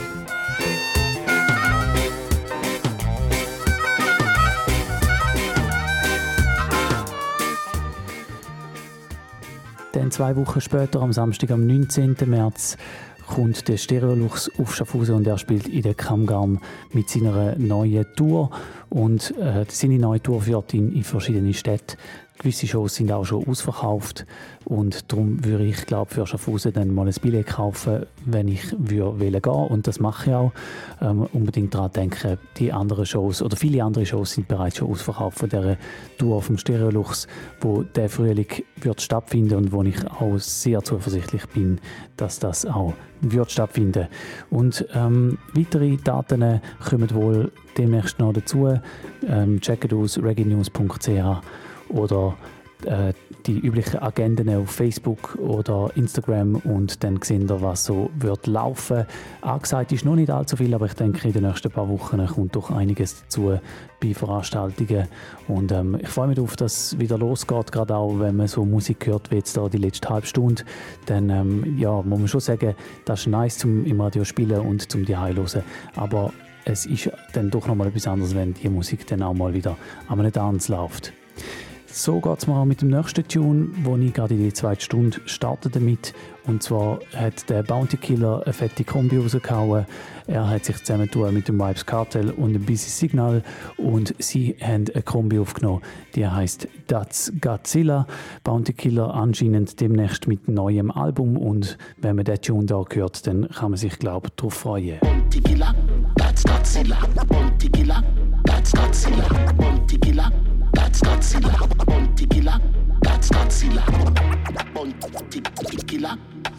Dann 2 Wochen später, am Samstag, am 19. März, kommt der Stereolux auf Schaffhausen und er spielt in der Kammgarn mit seiner neuen Tour. Und seine neue Tour führt ihn in verschiedene Städte. Gewisse Shows sind auch schon ausverkauft und darum würde ich, glaube für Schaffhausen dann mal ein Billett kaufen, wenn ich wählen gehen, und das mache ich auch. Unbedingt daran denken, die anderen Shows oder viele andere Shows sind bereits schon ausverkauft von dieser Tour vom Stereolux, wo der Frühling wird stattfinden und wo ich auch sehr zuversichtlich bin, dass das auch wird stattfinden. Und weitere Daten kommen wohl demnächst noch dazu. Checkt aus reginews.ch oder die üblichen Agenden auf Facebook oder Instagram und dann sehen wir, was so wird laufen. Angesagt ist noch nicht allzu viel, aber ich denke, in den nächsten paar Wochen kommt doch einiges dazu bei Veranstaltungen. Und ich freue mich darauf, dass es wieder losgeht, gerade auch, wenn man so Musik hört, wie jetzt da die letzte halbe Stunde. Dann ja, muss man schon sagen, das ist nice zum im Radio spielen und zum die hören. Aber es ist dann doch noch mal etwas anderes, wenn die Musik dann auch mal wieder an einem Tanz läuft. So geht es mir auch mit dem nächsten Tune, wo ich gerade in die 2. Stunde starte damit. Und zwar hat der Bounty Killer eine fette Kombi rausgehauen. Er hat sich zusammengetan mit dem Vibes Cartel und dem Busy Signal und sie haben eine Kombi aufgenommen, die heisst That's Godzilla. Bounty Killer anscheinend demnächst mit neuem Album und wenn man den Tune da hört, dann kann man sich, glaube ich, darauf freuen.
Bounty Killer, that's Godzilla. Bounty Killer, that's Godzilla. Bounty Killer, that's Godzilla. Bounty Killer, that's Godzilla. Bounty Killer.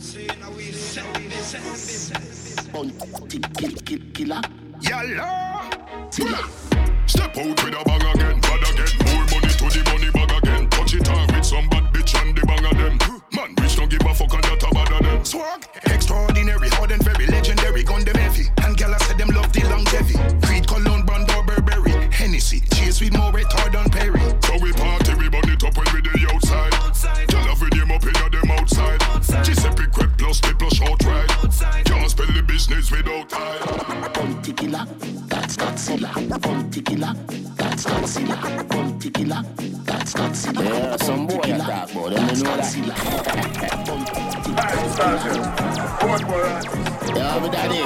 Bounty Killer. Yalla.
Step out with a bang again, bad again. More money to the money bag again. Touch it on with some bad bitch and the bang of them. Man, bitch don't give a fuck and that a bad of them.
Swag, extraordinary, hard and very legendary. Gun them heavy, and gyal said them love the longevity. Creed, Cologne, Brando, Burberry, Hennessy. Chase with more retard on Perry.
So we party, we burn it up when we the outside. Gyal have with them up in them outside. Giuseppe Crep plus the plus short ride. Can't spell the business without time.
Bounty Killer, that's Godzilla. Bounty Killer, that's Godzilla. Bounty Killer, that's Godzilla.
Yeah, some boy attack, boy. Them know that. Yeah, with daddy.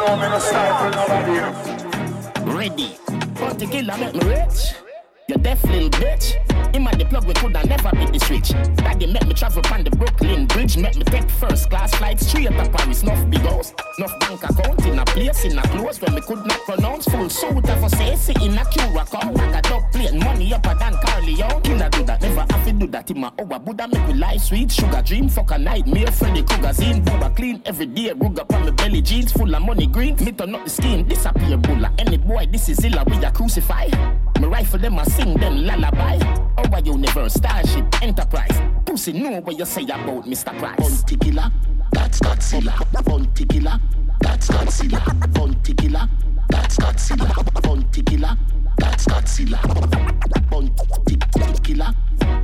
Ready. Bounty Killer make me rich. You deaf little bitch. Him and the plug we coulda never beat the switch. Daddy make me travel on the Brooklyn Bridge. Make me take first class flight straight to Paris. Nuff big house, nuff bank account in a place in a close when me could not pronounce. Full suit of a say in a Curacao. Like a dog plane, money upper than Carleon. Killer do that, never have to do that in my hour. Buddha make me life sweet, sugar dream, fuck a nightmare. Freddy Krueger zine, booba clean every day. Ruga on my belly jeans, full of money green. Me turn up the scheme, disappear bulla. Any boy, this is illa, we a crucify. Me rifle them, I sing them lullaby. Our universe, Starship, Enterprise. Pussy know what you say about Mr. Price.
Bounty Killer, that's Godzilla. Bounty Killer, that's Godzilla. Bounty Killer, that's Godzilla. Bounty Killer, that's Godzilla. Bounty Killer.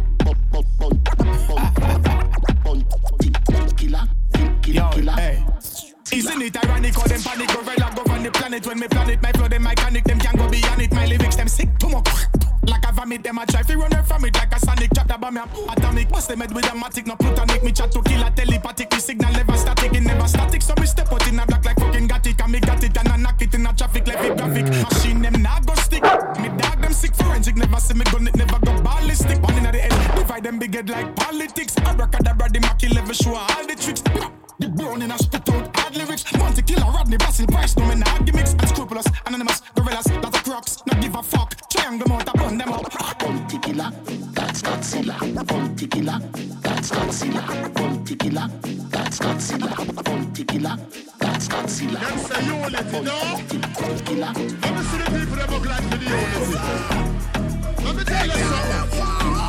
Bounty Killer.
Hey. Isn't it ironic how them panic gorilla go on the planet when me planet my flow them iconic them can't go beyond it my lyrics them sick too much like a vomit them a try to run from it like a sonic chat about me atomic bust them head with a matic no plutonic me chat to kill a telepathic me signal never static it never static so me step out in a black like fucking got it and me got it and I knock it in a traffic levy graphic machine them not go stick me dog them sick forensic never see me gun it never go ballistic one in the head divide them big head like politics abracadabra the Machiavelli show all the tricks
The burning and spit out hard lyrics. Monte Killer, Rodney, Basil, Price, no men hard gimmicks. Unscrupulous, anonymous, gorillas, lot of crocs. Not give a fuck. Triangle mount, I burn them up. Monte Killer, that's Godzilla. Monte Killer, that's Godzilla. Monte Killer, that's Godzilla. Monte Killer, that's Godzilla.
Them say unity, no?
Monte Killer.
Let me see the people that look like the unity. Let me tell you something.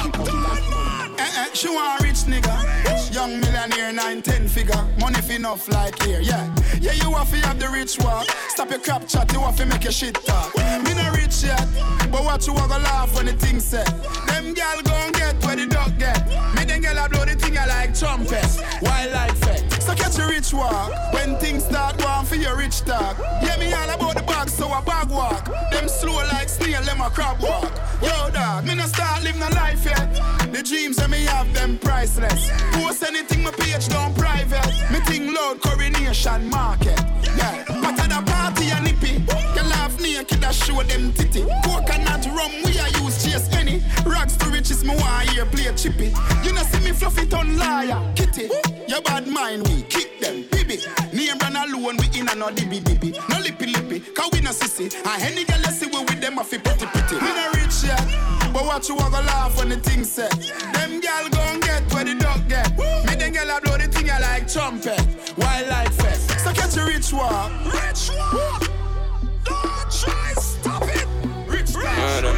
She want rich nigga, young millionaire, 9-10 figure, money fi enough like here, yeah. Yeah, you have to have the rich walk. Stop your crap chat, you have to make your shit talk. Me not rich yet, but watch you walk a laugh when the thing set. Them gal gon' get where the dog get. Me them gal a blow the thing I like trumpet, wildlife effect. So catch your rich walk, when things start going for your rich talk. Yeah, me all about the bag, so I bag walk. Them slow like snail, them a crab walk. Yo dog, me not start living a life yet. The dreams that me have, them priceless. Post anything my page down private. Me think loud coronation market. Yeah, but at a party and nippy. You laugh naked and show them titty. Coconut rum we a use chase any. Rags to riches me want here play chippy. You know see me fluffy ton liar, kitty. Your bad mind we kick them, baby. Name run alone we in a no dibby dibby. No lippy lippy, cause we no sissy. And any girl you see we with them a fi pretty pretty. Me no rich yet, but watch you walk a laugh when the thing set. Them gal gon' get where the dog get. Me them gal a blow the thing I like trumpet. Wildlife fest. So catch a rich walk. Rich walk. Don't try stop it. Rich walk.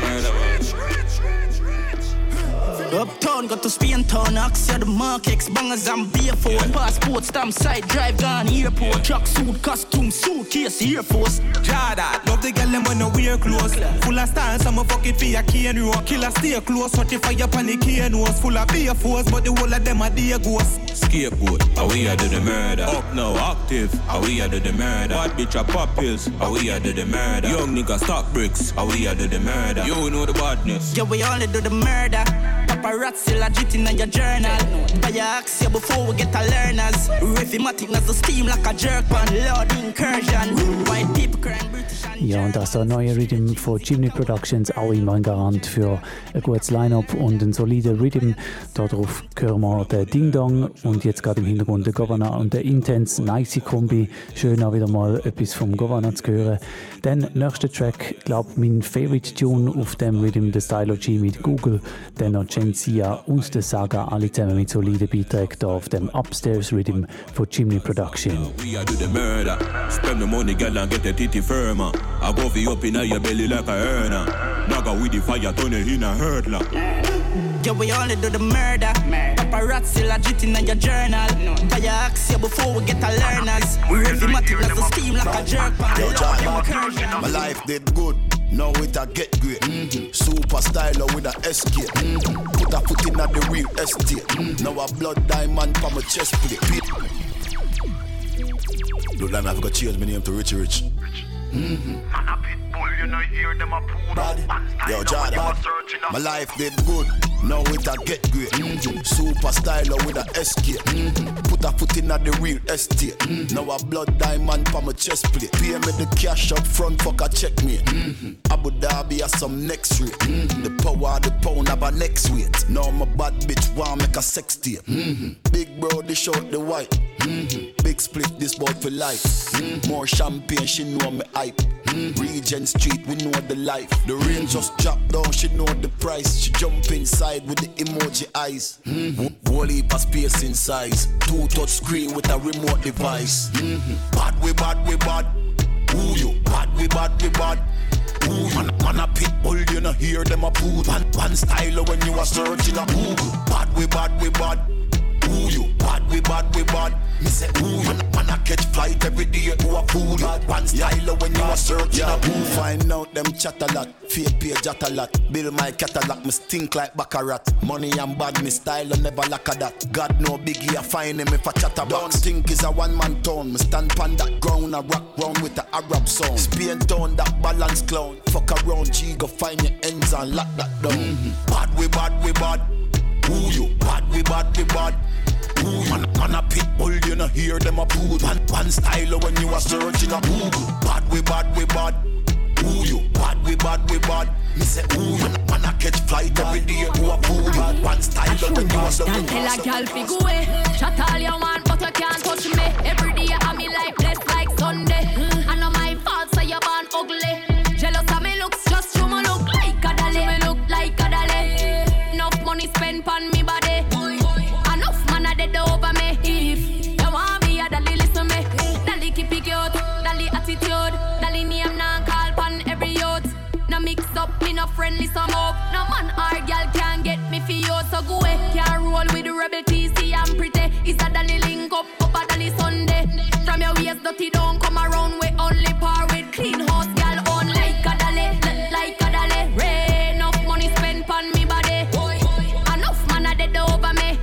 Uptown, got to Spain town, Axia the Markex, bangers and beer phone. Passport, stamp, side drive, gone airport. Truck suit, costume, suitcase, Air Force.
Jada, love the girl them when no wear clothes. Full of style, some fuck it for your cane row. Killer stay close, watch it fire pan the cane nose. Full of beer force, but the whole of them are dear ghosts.
Scapegoat, how we are do the murder. Up now, active, how we are do the murder. Bad bitch a pop pills, how we are do the murder. Young nigga stock bricks, how we are do the murder. You know the badness.
Yeah, we only do the murder. Paparazzi legit in your journal. Buy your Axia before we get a learners. Rhythmatic as the steam like a jerk pan. Lord incursion. White people crying British.
Ja, und das ist der neue Rhythm von Chimney Productions, auch immer ein Garant für ein gutes Line-Up und einen soliden Rhythm. Darauf hören wir den Ding Dong und jetzt gerade im Hintergrund der Governor und der Intense Nice Kombi. Schön auch wieder mal etwas vom Governor zu hören. Dann nächster Track, glaube mein Favorite Tune auf dem Rhythm, der Stylo G mit Google, dann noch Genzia und der Saga, alle zusammen mit soliden Beiträgen hier auf dem Upstairs Rhythm von Chimney Production.
We are do the murder. Spend the money, girl, and get the titty firmer. I go for you up in your belly like a earner. Naga with the fire, turn it in a hurdler.
Yeah, we only do the murder. Paparazzi legit in your journal. Buy your Axia before we get a learners. Rhythmatic as the steam like a jerk pan.
Yo, my life did good. Now it a get great. Super styler with a escape. Put a foot in at the real estate. Now a blood diamond for my chest plate. Look like I've got change my name to Richie Rich. Man a pit bull, you know hear them a pool. Yo, Jordan, my life did good. Now it a get great. Super styler with a escape. Put a foot in at the real estate. Now a blood diamond for my chest plate. Pay me the cash up front, fuck a check me. Abu Dhabi has some next rate. The power of the pound have a next weight. Now my bad bitch want make a sex tape. Big bro, they short the white. Big split, this boy for life. More champagne, she know me hype. Regent Street, we know the life. The rain just dropped down, she know the price. She jump inside with the emoji eyes. Whole heap of space in size. 2 touch screen with a remote device. Bad we bad we bad. Who you? Bad we bad we bad. Ooh, man a pit bull, you know hear them a poo. One style when you are searching a Google. Bad we bad we bad. Ooh, you bad we bad we bad. Me say ooh, man a catch flight every day to a pool. One style when you are searching a pool. Find out them chat a lot, fake page chat a lot. Build my catalog, me stink like Baccarat. Money and bad, me style and never lack of that. God no biggie, I find him if I chat about. Don't think is a one-man town. Me stand pan that ground, I rock round with the Arab song. Spain town, that balance clown. Fuck around, G, go find your ends and lock that down. Bad we bad we bad. Ooh, you bad we bad we bad. Ooh, man a pit bull, you know hear them a poo. One style when you are searching a Google. Bad we bad we bad. Ooh, you bad we bad we bad. Me say ooh, man a catch flight every day to a pool. One style when you are searching a Google.
Tell a girl fi go away. Chat all you want, but you can't touch me. money spent on me body. Enough man a dead over me. If you want me, Dali listen me. Dali keep it cute, Dali attitude, Dali name now call pan every youth. No mix up, me no friendly some up. No man or girl can get me for you. So go away, can't roll with the rebel TC and pretty. It's a Dali link up a Dali Sunday. From your waist dirty don't come around. We only par with clean house girl on like a Dali, like a Dali. Rain enough money spent on me body. Enough man a dead over me.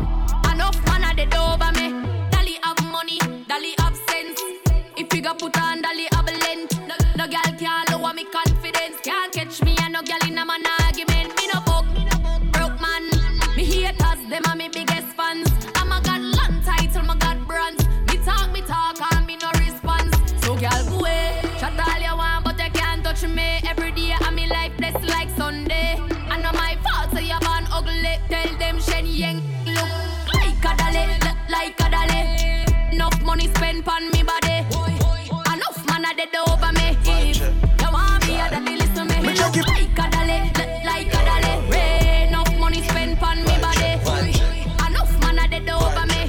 Enough man a dead over me. Dali have money, Dali have sense. If you go put on Dali have length. No girl can't lower me confidence. Can't catch me and no girl in a man argument. Me no book, broke man. Me haters, them are me biggest fans. I'm a god land title, my god brands. Me talk, and me no response. So girl go away, chat all you want, but you can't touch me. Every day I'm me life blessed like Sunday. And not my fault, so you born ugly. Tell them Shen Yang look like a Dali, look like a Dali. Enough money spent on me body. Enough man a dead over me. If you want me, a Dali listen me. Look like a Dali, look like a Dali. Rain enough money spent on me body. Enough man a dead over me.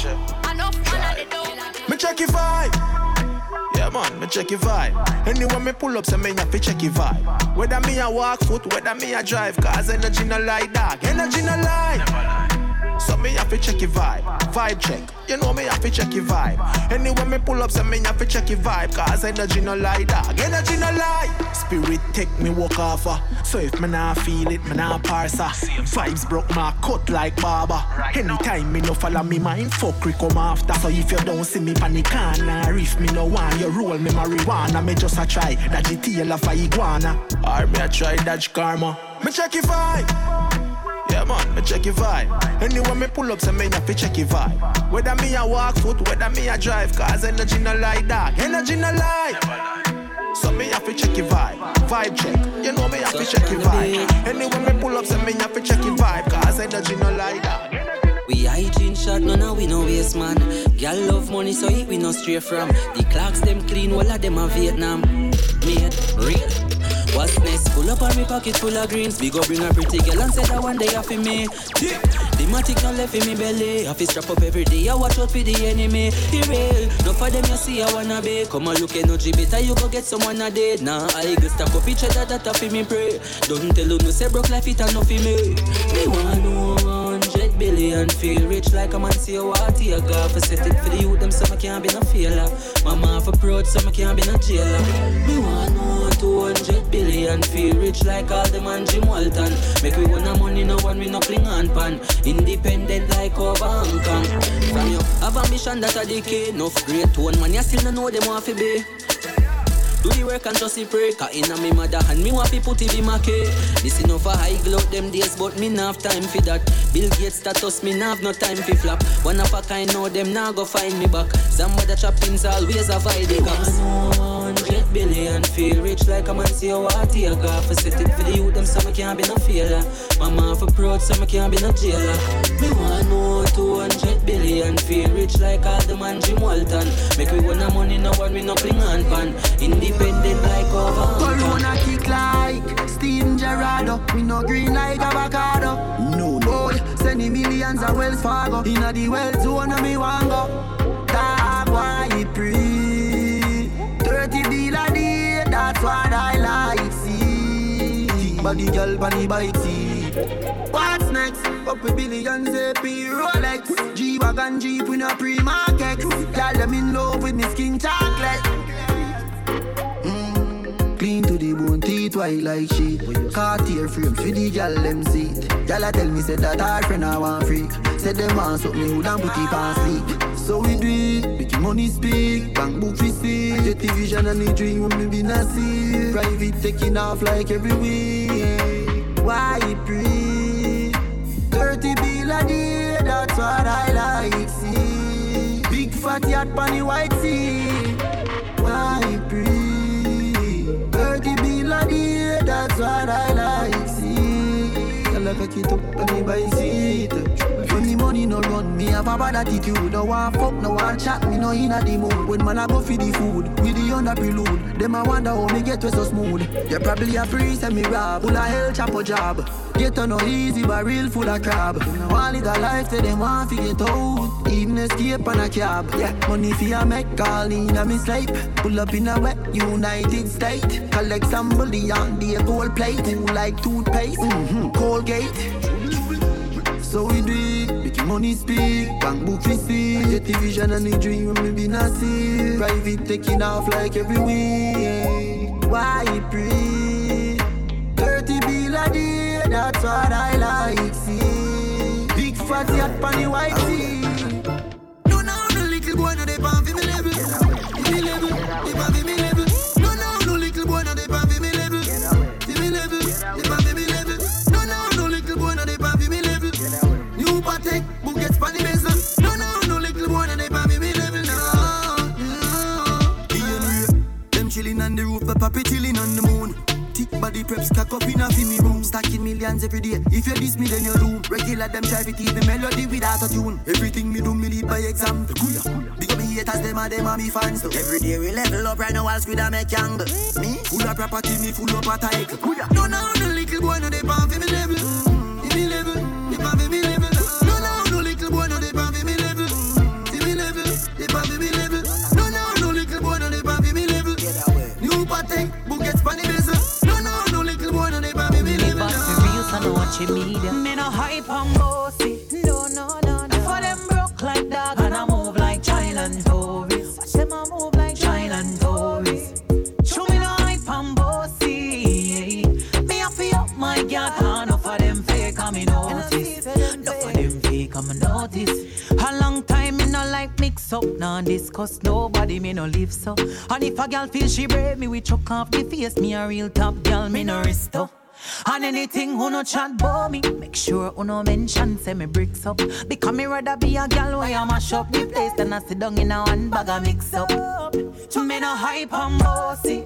Enough man a dead over me.
Me check your vibe. Yeah man, me check your vibe. Anyway me pull up, so me have to check your vibe. Whether me a walk foot, whether me a drive, cause energy no lie, dog. Energy no lie. So me have to check your vibe. Vibe check. You know me have to check your vibe. Anyway me pull up, so me have to check your vibe, cause energy no lie, dog. Energy no lie. Spirit take me walk off. So if me nah feel it, me nah parse. Vibes broke my cut like barber. Anytime me no follow me mind, fuck come after. So if you don't see me panic corner, if me no want you roll me marijuana, me just a try that the tail of a iguana. Or me a try dodge karma. Me check your vibe. Yeah man, me check your vibe. Anyway me pull up, so me have to check your vibe. Whether me a walk foot, whether me a drive, cause energy no lie, dog. Energy no lie. So me have to check your vibe. Vibe check. You know me have to check your vibe. Anyway me pull up, so me have to check your vibe, cause energy no lie, dog.
We hygiene shot, no we no waste man. Girl love money, so it we no stray from. The clocks them clean, all of them are Vietnam. Made real. What's next? Pull up on me pocket full of greens. We go bring a pretty girl and say that one day off in me. Yeah. The matic not left in me belly. Have to strap up every day. I watch out for the enemy. He real. No for them you see I wanna be. Come on look energy better you go get someone a date. Nah I go stack up each other that off in me pray. Don't tell you no say broke life it enough in me. Me want no 100 billion. Feel rich like a man see a water. You got for set it for the youth them so I can't be no failure. Mama for proud so I can't be no jailer. Me want no 200 billion. Feel rich like all the man Jim Walton. Make we want money, no one we no cling on pan. Independent like over Hong Kong. From you have ambition that a decay. Enough great one man, you still don't know them want to be. Do the work and just pray. Cause inna me mother and me want people to be my key. This enough for high glow them days, but me nah have time for that. Bill Gates status, me nah have no time for flap. One of a kind know them nah go find me back. Some other trappings always avoid the cops. 100 billion, feel rich like a man see a water. You got for set it for the youth them so I can't be no failure. Mama for proud so I can't be no jailer. Me want no 200 billion, feel rich like all the man Jim Walton. Make we want money, no one we no cling on pan. Independent like over.
Corona kick like Steven Gerrard. We no green like avocado. No boy, sending millions of Wells Fargo. Inna the well zone of me want go. Dog why it pre 30 deal a day, that's what I like see. Thick body girl on the bike seat. What's next? Up with billions AP Rolex. G-Wagon Jeep with no pre-market. Girl them in love with me skin chocolate. Clean to the bone, teeth white like shit. Cartier frames for the gal them seat. Gal tell me said that her friend I want freak. Said them want something who don't put it on sleep. So we do it, make money speak. Bank book we see. Get the vision and the dream when me be not see. Private taking off like every week. Why it pre 30 bill a day, that's what I like see. Big fat yacht on the white sea. Why it pre 30 bill a day, that's what I like see. I like a kid up on the bike seat. When the money no run, me have a bad attitude. No one fuck, no one chat, me no inna the mood. When man I go for the food, with the under prelude. Them I wonder how me get so smooth. You probably a free send me rob, full of hell chop a job. Get on no easy barrel full of crab. One little life say them want to get out. Even escape on a cab. Yeah, money for a make call in a me sleep. Pull up in a wet United States. Collect some bully on the gold plate. Who like toothpaste? Colgate. So we do it, make money speak. Bank book we see. Get the vision and the dream when me be not see. Private taking off like every week. Why pray? 30 bill a day, that's what I like see. Big fat yacht on the white sea. No, no little boy no they pan for me level. For me level, they pan for me level. No little boy no they pan for me level. For me level, they pan for me level. No little boy no they pan for me level. New Patek, book gets pan the bezel. No little boy no they pan for me level. No. Them chilling on the roof, the papi chilling on the moon. Thick body preps stack up in a me room. Stacking millions every day. If you diss me then you do. Regular them try to keep the melody without a tune. Everything me do me lead by example. Big up me haters, them are me fans too. Every day we level up right now I'll squid and make angle. Me full of property, me full of a title. No little boy no they pan for me level. For me level, they pan for me level. No little boy no they pan for me level. For me level, they pan for me level. No little boy no they pan for me level. New Patek, book gets pan the bezel.
Media. Me no hype and bossy. No. For them broke like dog and I move like child and tourist. Watch them a move like child and tourist. Show me no hype and bossy. Me a feel up my God. Enough of them fake and me notice. Enough of them fake and me notice. A long time me no like mix up. Nah discuss nobody me no live so. And if a girl feel she brave me we chuck off the face. Me a real top girl me no risk up. And anything who no chat bout me, make sure who no mention say me bricks up. Because me rather be a gal where I mash up the place than I sit down in a one bag of mix up. Me no hype and bossy.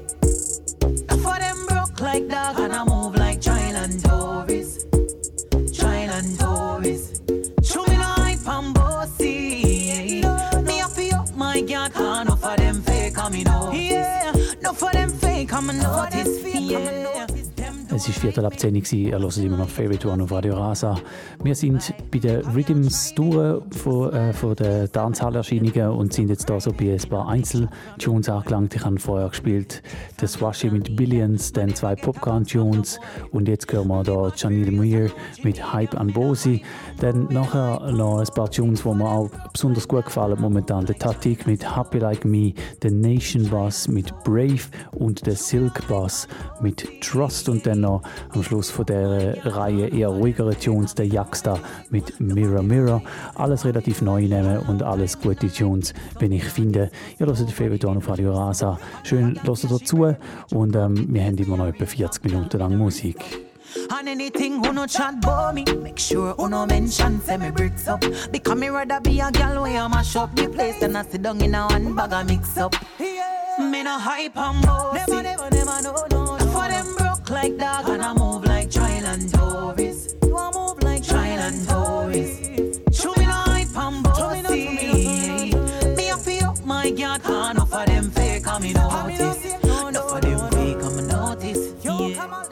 For them broke like dog and I move like child and tourist. Child and tourist. Show me no hype and bossy. Me a feel up my God. Enough of them fake and me notice. Yeah, enough of them fake and me notice. Yeah.
Es war 10:15 Uhr, ihr hört immer noch Favorite One auf Radio Rasa. Wir sind bei den Rhythms durch von den Dancehall-Erscheinungen und sind jetzt da so bei ein paar Einzeltunes angelangt. Ich habe vorher gespielt The Swashi mit Billions, dann 2 Popcorn-Tunes und jetzt hören wir da Janelle Muir mit Hype and Bossy. Dann nachher noch ein paar Tunes, die mir auch besonders gut gefallen momentan. Der Tatik mit Happy Like Me, der Nation Bass mit Brave und der Silk Bass mit Trust und dann noch am Schluss von der Reihe eher ruhigere Tunes, der Jaxta mit Mirror Mirror. Alles relativ neu nehmen und alles gute Tunes, wenn ich finde. Ihr hört den Favorite One auf Radio Rasa. Schön hört dazu und wir haben immer noch etwa 40 Minuten lang Musik.
And anything who no chat bout me, make sure who no mention say me bricks up. Because me rather be a gal where I mash up the place than I sit down in a one bag of mix up. Me no hype and bossy. Never, no. For them broke like dog and I move like child and tourist. You a move like child and tourist. Show me no hype and bossy. Me a feel up my God. Enough of them fake and me notice. Enough of them fake and me notice. Yeah.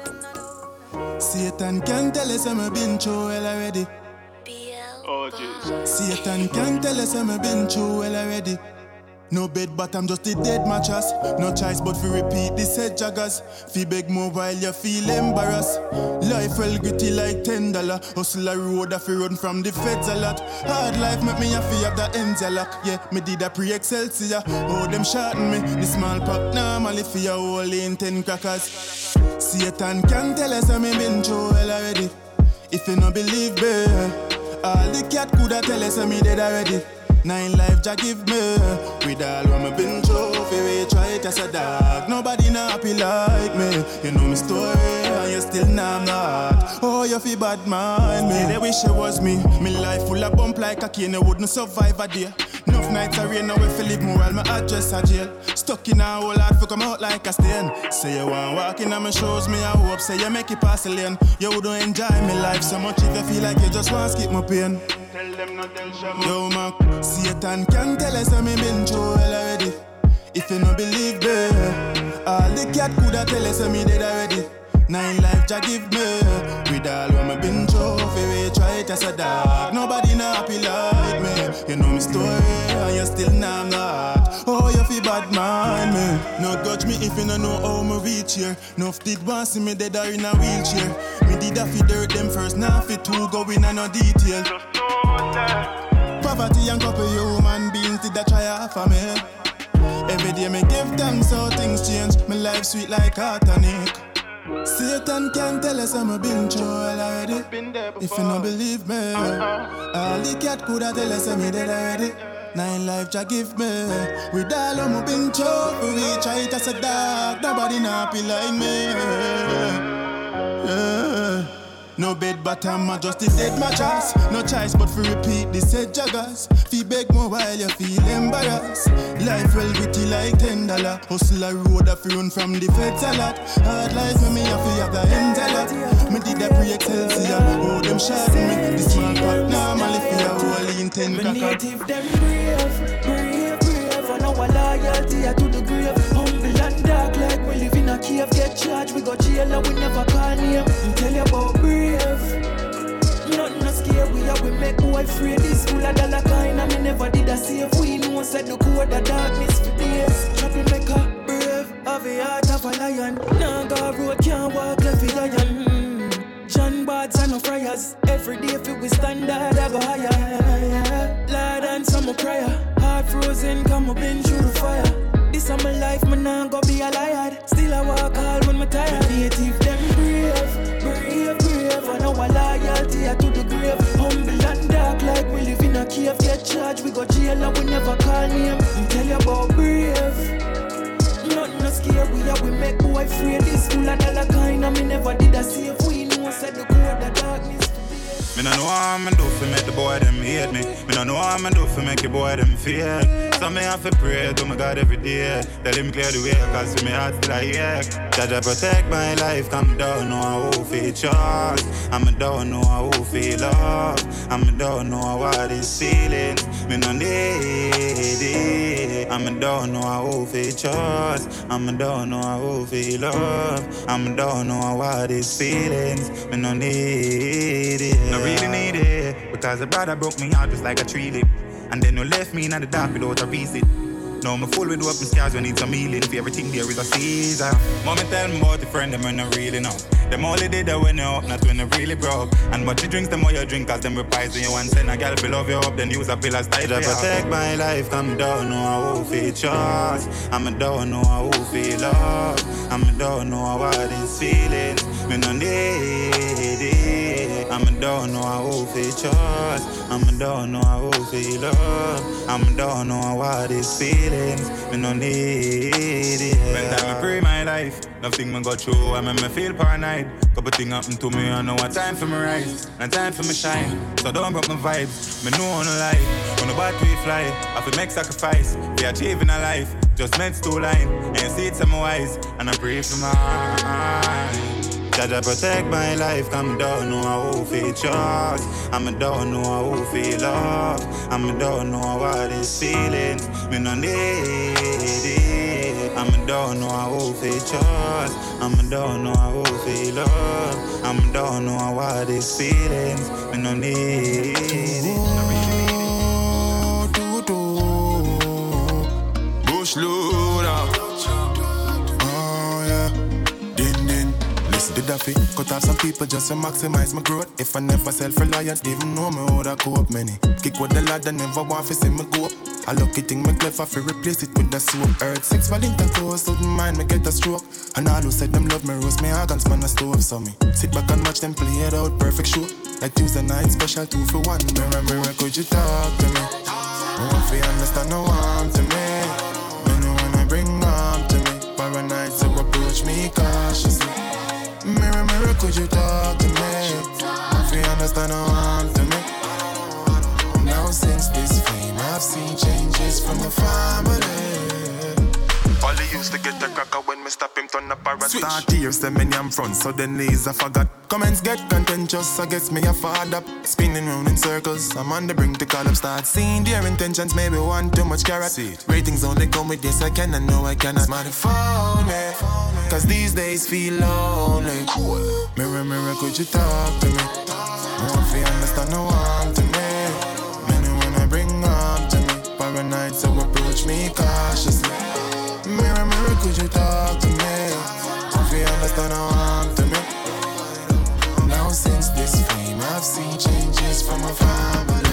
Satan can tell us I'm been through hell already.
Oh, Jesus.
Satan can tell us I'm been through hell already. No bed, but I'm just a dead mattress. No choice but to repeat this head joggers. Fi beg more while you feel embarrassed. Life well gritty like $10. Hustle a road a fi run from the feds a lot. Hard life make me a fi have the ends a lock. Yeah, me did a pre-Excelsior. Oh, them shorten me. The small pack normally fi a whole in 10 crackers. Satan can tell us I'm been through hell already. If you no believe me, all the cat coulda tell us I'm dead already. 9 life Jah give me. With all what me been through, fi we try it as a dog. Nobody not happy like me. You know me story, and you still not mad. Oh, you fi bad mind me. They wish it was me. Me life full of bump like a cane, you wouldn't survive a day. Enough nights I rain, now if you live more while my address a jail. Stuck in a hole hard for come out like a stain. Say you want walk in on my shows, me I hope. Say you make it pass the lane. You wouldn't enjoy me life so much if you feel like you just want to skip my pain.
Tell them not tell Shama.
Yo, man, Satan can tell us I'm been through hell already. If you no believe me, all the cat coulda tell us I'm dead already. 9 life Jah give me. With all what me been through, we try it as a dog. Nobody not happy like me. You know me story, and you still know I'm not. Oh, you feel bad mind me. No judge me if you don't know how me reach here. Nuff did want see me dead or in a wheelchair. Me did a fi dirt them first, now fi two go in a no detail. Poverty and couple human beings did a try for me. Every day me give them so things change. My life sweet like a tonic. Satan can't tell us I'm a been through already. If you don't believe me, all the cat coulda tell us I'm dead already. 9 life Jah give me. With all I'm been through, we try it as a dog. Nobody not happy like me. No bed bottom, I just a dead mattress. No choice but to repeat this said joggers. Fee beg more while you feel embarrassed. Life well gritty like $10. Hustle a road a run from the feds a lot. Hard life me have the ends a lot. Me did a pre-Excelsior. Oh, them shot me. This small pot normally feel a whole in 10
cracker. Me native them brave. And our loyalty to the grave. Humble and dark like we live in a cave. Get charged, we go jail and we never call name. Tell you about brave. Nothing no scare we make boy afraid. This full of dollar kind and me never did a save. We know said the code the darkness for days. Troublemaker, brave, have a heart of a lion. Naga road can't walk left with iron. John Bards and no friars. Every day if we standard I go higher. Lord and some prayer. Heart frozen, come up in through the fire. This is my life, man, nah go be a liar. Still I walk hard when me tired. Native them brave. And our loyalty to the grave. Humble and dark like we live in a cave. Get charged, we go jail and we never call name. Tell you about brave. Nothing no scare we make boy afraid. This full of dollar kind and me never did a save. We know said the code the darkness.
Me no know how I'm do fi make the boy them hate me. Me no know how I'm do fi make the boy them fear. So me have to pray to my God every day. Tell him clear the way, cause to me heart still a ache. Jah protect my life, come down, know how feel trust. I'm don't know how feel love. I'm don't know what is feelings. Me no need it. I'm don't know how feel trust. I'm don't know how feel love. I'm don't know what is feelings. Me no need it. No really need it. Because the brother broke me out just like a tree lip. And then you left me in the dark without a reason. Now I'm full with open scars when it's a mealing. For everything there is a season. Mommy tell me about the friend them when I really know. Them only did that when you're up, not when you really broke. And what you drinks, the more you drink, cause them reprise when you want send a girl below you up, then use a pill as tight. I protect my life, I'm down, know how feel trust. I'm down, know how feel love. I'm down, know what is feelings. Me no need it. I'm down, know how feel trust. I'm down, know how feel love. I'm down, know what is feelings. Me no need it. When time I pray my life, nothing me go through, I make me feel paranoid. Couple things happen to me, I know what time for me rise, and time for me shine. So don't broke my vibes, me know on the life. When the battery fly, I have to make sacrifice. We achieving a life, just meant to line. And see it's in my eyes, and I pray for my eyes. Jah protect my life, come down, know how feel trust. I'm down, know how feel love. I'm down, know what is feelings. Me no need it. I'm down, know how feel trust. I'm down, know how feel love. I'm down, know what is feelings. Me no need it.
Bush loader. Oh yeah. Did I fit cut off some people just to maximize my growth? If I never self-reliant, even know me how to cope many. Kick with the lad and never want to see me go up. A lucky thing me clever fi replace it with the soap. Earth 6 Valentine toes, wouldn't mind me get a stroke. And all who said them love me roast me organs man a stove. So me sit back and watch them play it out, perfect show. Like Tuesday night special 2 for 1. Mirror, could you talk to me? I want to understand no harm to me. You know when I bring harm to me. Paranoid so approach me cautiously. Mirror, could you talk to me? If you understand how I'm to me. Now since this fame, I've seen changes from the family. All he used to get a cracker when me stop him turn Start tears, them in I'm front, so the knees I forgot. Comments get contentious, I guess me a fad up. Spinning round in circles, I'm on the brink to call up. Start seeing their intentions, maybe one too much carrot. Ratings only come with this, I can, I know I cannot. Smart phone me, cause these days feel lonely. Mirror, mirror, could you talk to me? More if you understand, no one to me. Many wanna bring up to me. Paranoid, so approach me cautiously. Mirror, mirror, could you talk to me? If you understand, no one to me. Now since this fame, I've seen changes from my family.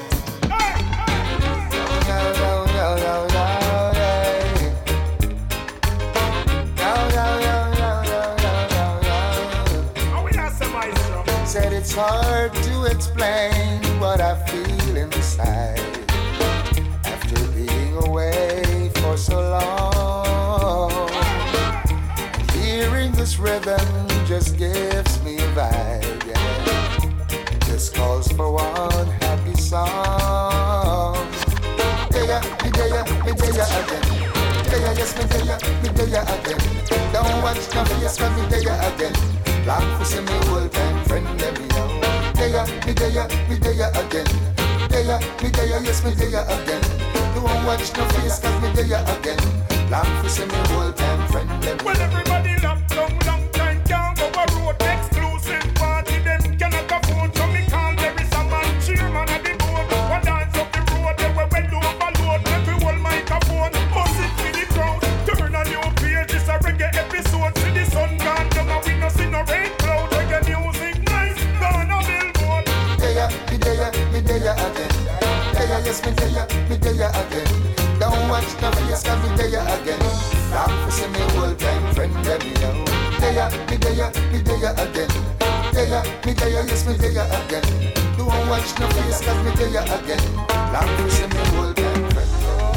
Said it's hard to explain what I feel inside after being away for so long. Hearing this rhythm just gives me a vibe, yeah. Just calls for one happy song. Me there again. Yes, me there again. Don't watch no face, but me there again. Long for see me old time friend, let me know. Me there again. Yes, me there again. Don't watch no face, cause me there again. Long for see me old time friend, let me know.
Well, everybody locked down, long time can't go a road. Exclusive party, them cannot afford. So me call there is a man, chairman of the board. One dance up the road, they were well overload. Every whole microphone, bust it for the crowd. Turn a new page, it's a reggae episode. See the sun gone down and we no see no rain cloud. Reggae music nice, gone a billboard.
Me there again. Yes, me there again. Don't watch no face, cause me there again. Long for see me old time friend, let me know. Me there again. Yes, me there again. Don't watch no face, cause me there again. Long for see me old time friend.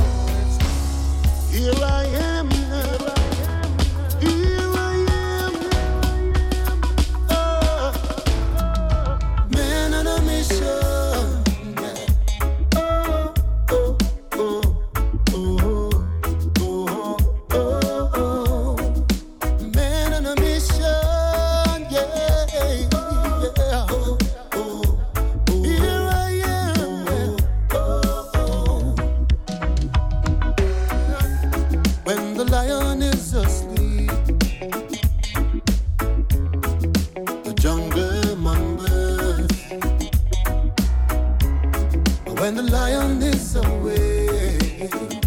Here I am.
Man on a mission. Man on a mission, yeah. Here I am. When the lion is asleep, the jungle mumbles. When the lion is awake,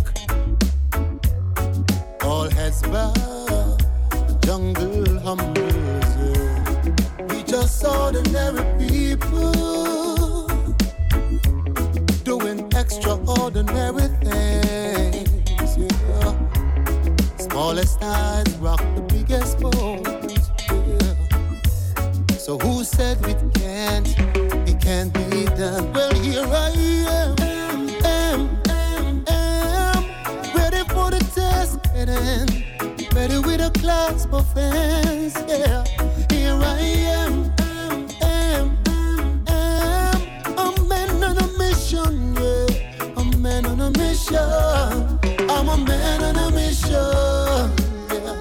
all heads bow, the jungle humbles. Yeah. We just ordinary people doing extraordinary things. Yeah. Smallest eyes rock the biggest bones. Yeah. So who said it can't be done? Well, here I am, ready for the test, ready with a clasp of hands. Yeah, here I am, a man on a mission. Yeah, a man on a mission. I'm a man on a mission. Yeah.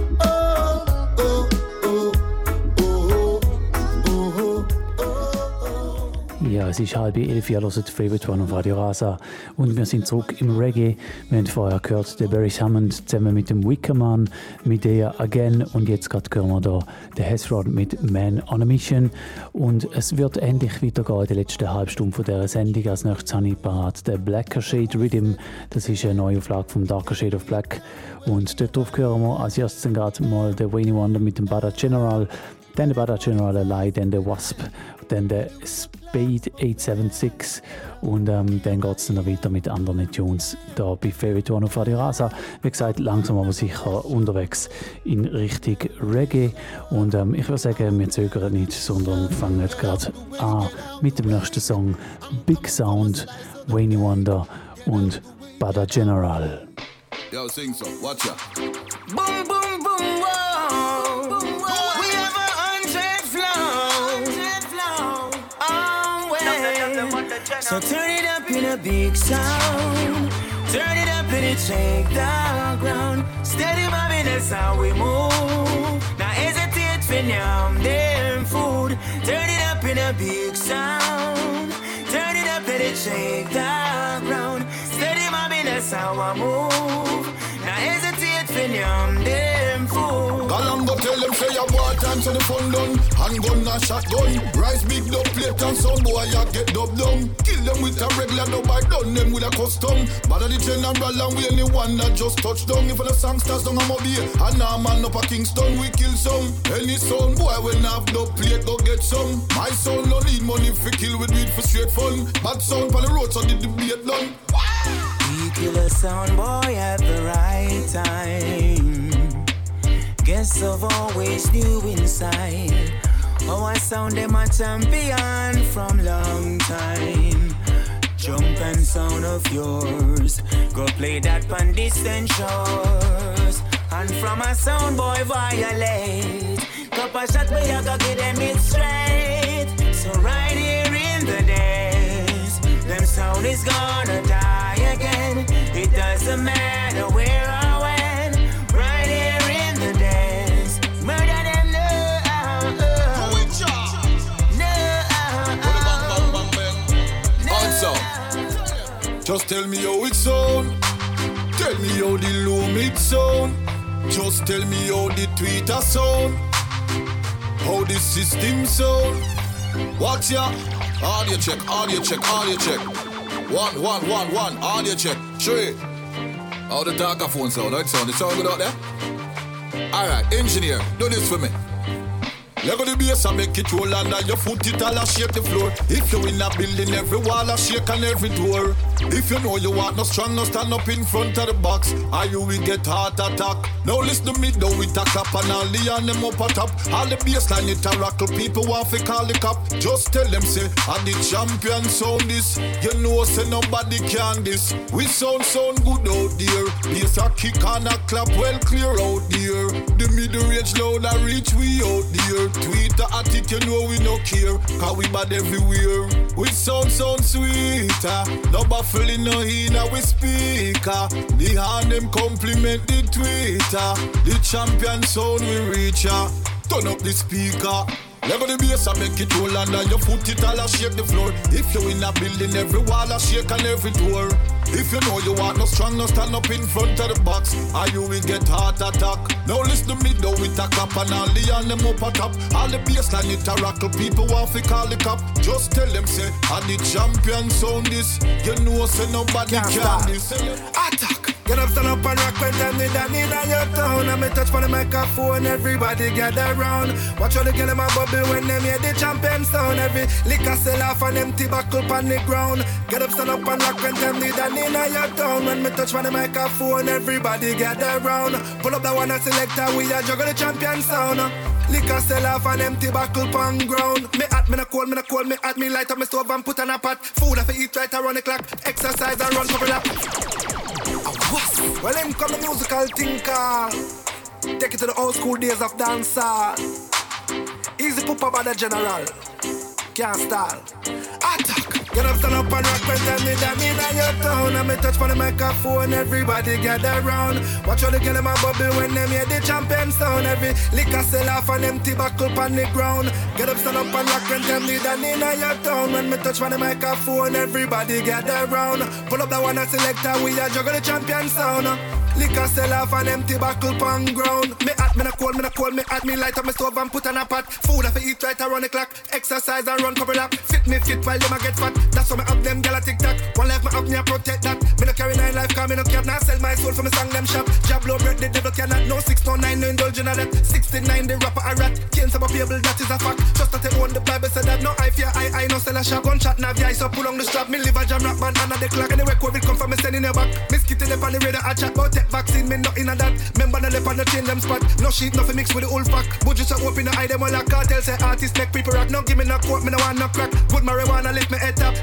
Ja, es ist 10:30, ihr hört Favorite One auf Radio Rasa und wir sind zurück im Reggae. Wir haben vorher gehört, der Barry Hammond zusammen mit dem Wickerman, mit der Again und jetzt gerade hören wir da den Hezron mit Man on a Mission und es wird endlich weitergehen in der letzten halben Stunde von dieser Sendung. Als nächstes habe ich parat den Blacker Shade Rhythm, das ist eine neue Auflage vom Darker Shade of Black und dort drauf hören wir als erstes gerade mal den Wayne Wonder mit dem Bada General, dann der Bada General allein, dann der Wasp, dann der Spade 876 und dann geht es dann noch weiter mit anderen Tunes da bei Favorite One auf Radio Rasa. Wie gesagt, langsam aber sicher unterwegs in Richtung Reggae und ich würde sagen, wir zögern nicht, sondern fangen gerade an mit dem nächsten Song Big Sound, Wayne Wonder und Bada General.
Yo, sing so, watch ya.
Boom, boom, boom, whoa. We have 100 flow. Oh, well. So turn it up in a big sound. Turn it up and it shake the ground. Steady mommy, that's how we move. Now hesitate for yam them food. Turn it up in a big sound. Turn it up and it shake the ground. Steady mommy, that's how I move. Now hesitate for yam them food.
Galango tell them say your war time so the fun done. Handgun and shotgun. Rise big dub plate and some boy ya get dub down. Kill them with a regular dub, I done them with a custom. But the general and we anyone that just touch down. If the song starts down I'm up here. And now man up a Kingston we kill some. Any son boy when have dub plate go get some. My son no need money for kill with weed for straight fun. Bad sound on the road so the debate done.
We kill a sound boy at the right time. Guess I've always knew inside. Oh, I sound them a champion from long time. Jump and sound of yours. Go play that on distant shores. And from a sound boy violate. Couple shot where you go get them it straight. So right here in the days, them sound is gonna die again. It doesn't matter where or when. Right here in the days, murder them
Just tell me how it sound. Tell me how the low mid sound. Just tell me how the Twitter sound. How the system sound. Watch ya. Audio check, audio check, audio check. 1, 1, 1, 1. Audio check. 3. How the talker phone sound? How it sound? It sound good out there? Alright, engineer, do this for me. Leg on the bass and make it roll under your foot, it all a shake the floor. If you in a building, every wall a shake and every door. If you know you want no strong, no stand up in front of the box, or you will get heart attack. Now listen to me, though with a clap and all the on them up a top. All the bassline it a rockle, people want to call the cop. Just tell them say, I'm the champion sound this. You know say nobody can this. We sound good out there. Bass a kick and a clap well clear out there. The middle range loud a reach we out there. Twitter attic, you know we no care, cause we bad everywhere. We sound sweeter, no baffling no in our speaker. The hand them compliment the Twitter. The champion sound we reach ya. Turn up the speaker. Level the bass and make it roll under your foot, it all a shake the floor. If you in a building, every wall a shake and every door. If you know you want no strong, no stand up in front of the box, or you will get heart attack. Now listen to me, though with a clap and all the on them up a top. All the bassline it a rockle, people want to call the cop. Just tell them say, I'm the champion sound this. You know say nobody can this.
Attack! Get up, stand up and rock when time they done in your town. And me touch for the microphone, everybody gather round. Watch all the girl in my bubble when them hear the champion sound. Every liquor sell off and empty buckle on the ground. Get up, stand up and rock when time they done in your town. When me touch for the microphone, everybody gather round. Pull up the one and selector, we a juggle the champion sound. Liquor sell off and empty buckle on ground. Me at me no cold, me at me light up my stove and put on a pot. Food I fi eat right around the clock. Exercise and run couple lap. Well, him come the musical thinker. Take it to the old school days of dancehall. Easy poopa by the general. Can't stall. Attack! Get up, stand up and rock when tell me that in your town. And me touch for the microphone, everybody gather round. Watch all the girl in my bubble when them hear the champion sound. Every liquor sell off and empty buckle on the ground. Get up, stand up and rock when tell me that in your town. When me touch for the microphone, everybody gather round. Pull up the one and selector, we a juggle the champion sound. Liquor sell off and empty buckle on ground. Me at me no cold, me at me light up my stove and put on a pot. Food I fi eat right around the clock. Exercise and run couple lap. Fit me fit while them a get fat. That's why me up them gyal a tic-tac. One life me up me a protect that. Me no carry 9 life cause me no care. Now sell my soul for me song them shop. Job low bread the devil cannot. No 6, no 9, no indulge in that. 69 the rapper a rat. Can't stop a people, that is a fact. Just that they own the Bible said that. No eye fear, I no sell a shop. Gunshot nav ya, so pull on the strap. Me live a jam rap man under the clock. Anyway COVID come from me sending your back. Miss Kitty up on the radar a chat about tech vaccine. Me not in a that. Remember the lip on the chain them spot. No shit, nothing mixed with the old pack. Budgets are open the eye them all a cartel. Say artists make people rock. No give me no quote, me no want no crack. Good marijuana lift me head top. Scatter say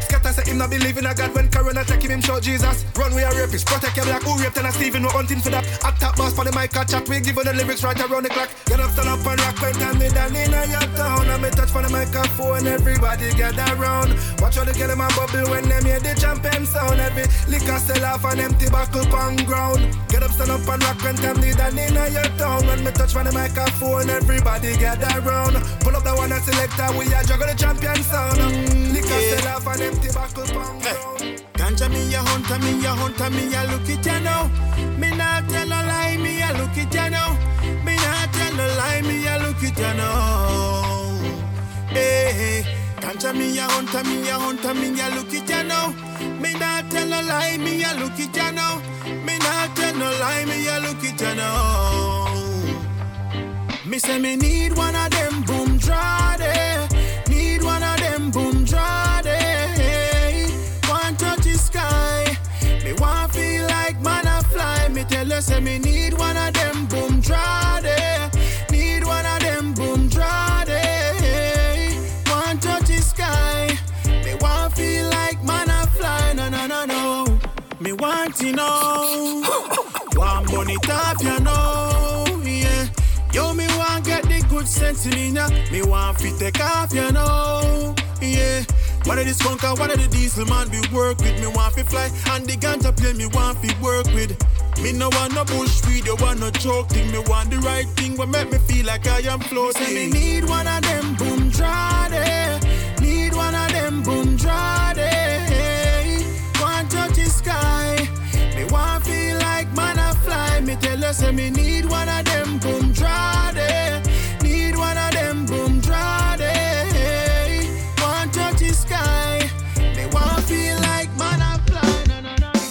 Him not believe in a God when Corona attack him show Jesus. Run we a rapist, protect your black. Who raped and a Stephen, we hunting for that. At top boss for the mic, a chat. We give the lyrics right around the clock. Get up, stand up and rock when time me down in your town. And me touch for the microphone, everybody gather round. Watch how they get them a bubble when them hear the champion sound. Every liquor sell off and empty buckle on ground. Get up, stand up and rock when time me down in your town. When me touch for the microphone, everybody gather round. Pull up the one that selector, we a juggle the champion sound. Liquor sell off and empty buckle on ground.
Ganja me a hunter, me a hunter, me a look at ya now. Me not tell a lie, me a look at ya now. Me not tell a lie, me a look at ya now. Hey, ganja me a hunter, me a hunter, me a look at ya now. Me not tell a lie, me a look at ya now. Me not tell no lie, me a look at ya now. Me say me need one of them boom draw there. Need one of them boom draw there. Want touch the sky. Me want feel like man a fly. Me tell you say me need one of them boom draw there. Need one of them boom draw there. Want touch the sky. Me want feel like man a fly. No no no no. Me want to know. Want money top you know. Yeah. Yo, me want get the good sense in ya. Me want fit take off, you know. Yeah. One of the skunker, one of the diesel man we work with. Me want fi fly, and the ganja play me want fi work with. Me no want no bullshit, you want no joke thing. Me want the right thing, what make me feel like I am floating. Say me need one of them boom draw there. Need one of them boom draw there. Want touch the sky. Me want feel like man a fly. Me tell you say me need one of them boom draw there. Need one of them boom draw there. Want touch the sky. Me want feel like man a fly. No no no.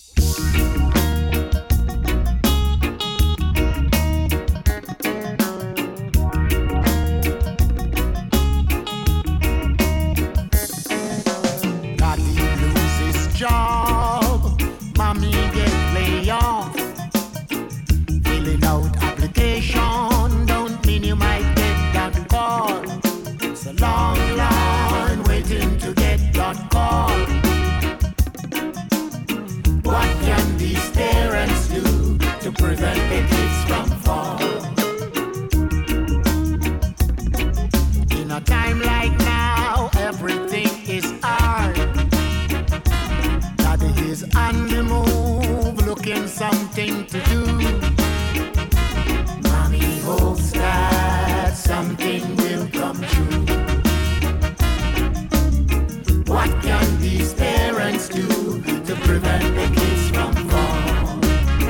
Daddy loses job, mommy get laid off. Filling out application don't mean you might get that call. It's a long line waiting to get that call. What can these parents do to prevent the kids from fall? In a time like now, everything is hard. Daddy is on the move, looking something to do. Mommy hopes that something will come true. What can these parents do to prevent the kids from falling?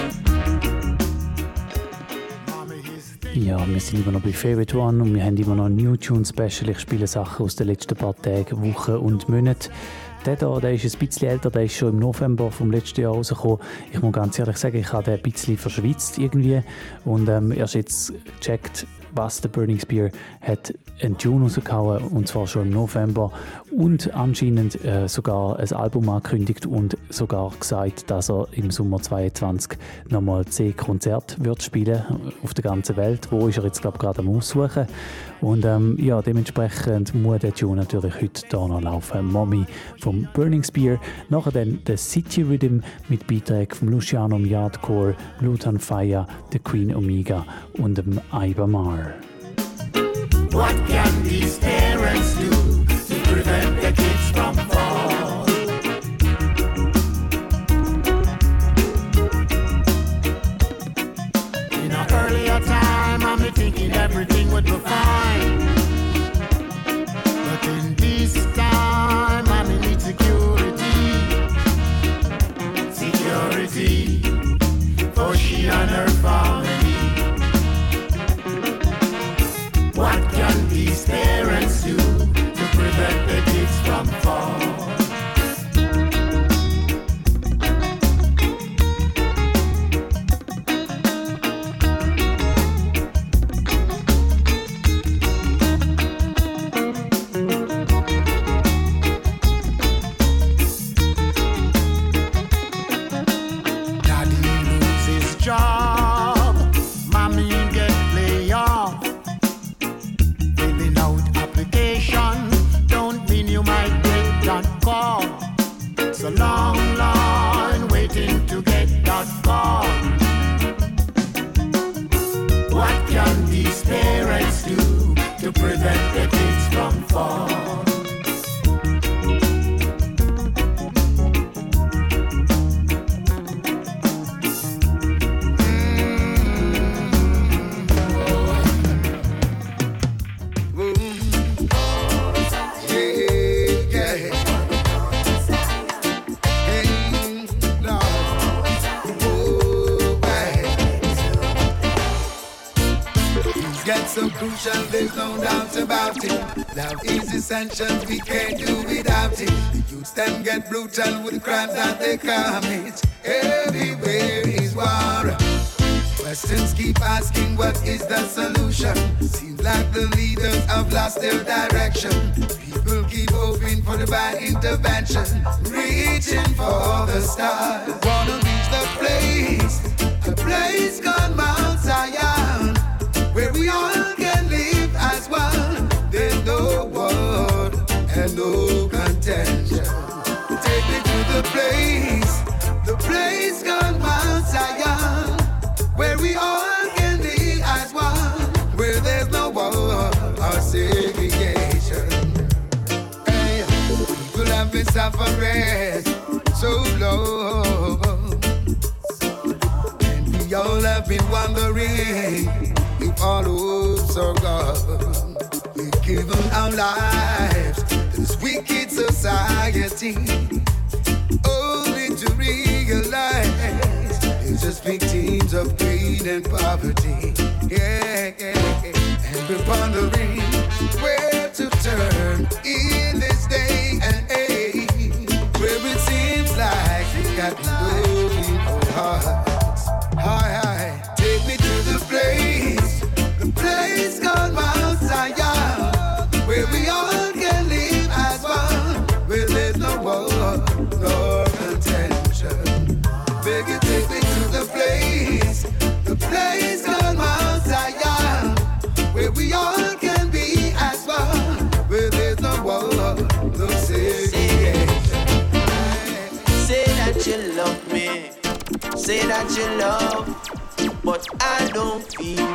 Ja, wir sind immer noch bei Favorite One und wir haben immer noch ein New Tune Special. Ich spiele Sachen aus den letzten paar Tagen, Wochen und Monaten. Der hier, der ist ein bisschen älter, der ist schon im November vom letzten Jahr rausgekommen. Ich muss ganz ehrlich sagen, ich habe den ein bisschen verschwitzt irgendwie und erst jetzt gecheckt, was der Burning Spear hat einen Tune rausgehauen, und zwar schon im November, und anscheinend sogar ein Album angekündigt und sogar gesagt, dass er im Sommer 2022 nochmal 10 Konzerte wird spielen auf der ganzen Welt. Wo ist er jetzt, glaube ich, gerade am Aussuchen. Und ja, dementsprechend muss der Tune natürlich heute hier noch laufen. Mommy vom Burning Spear. Nachher dann der City Rhythm mit Beiträgen von Luciano Yardcore, Lutan Fire, The Queen Omega und dem Iba Mar.
What can these parents do to prevent the kids from fall? In an earlier time, I'm thinking everything would be fine. But in this time, I'm in need security. Security for she and her family. What can these parents do to prevent the kids from falling?
a long line waiting to get that call. What can these parents do to prevent the kids from fall?
So crucial, there's no doubt about it. Love is essential, we can't do without it. The youths them get brutal with the crimes that they commit. Everywhere is war. Questions keep asking, what is the solution? Seems like the leaders have lost their direction. People keep hoping for divine intervention, reaching for the stars. Wanna reach the place, a place called Mount Zion, where we all can live as one. There's no war and no contention. Take me to the place called Mount Zion, where we all can live as one, where there's no war or segregation. Hey, people have been suffering so long, and we all have been wondering if all hopes are gone. We've given our lives to this wicked society, only to realize it's just victims of pain and poverty. Yeah. And we're wondering where to turn in this day and age, where it seems like we got no hearts. Hi, take me to the place called Mount Zion, where we all can live as one, where there's no war, no contention. Beg you, take me to the place called Mount Zion, where we all can be as one, where there's no war, no segregation.
Say that you love me, say that you love, but I don't feel.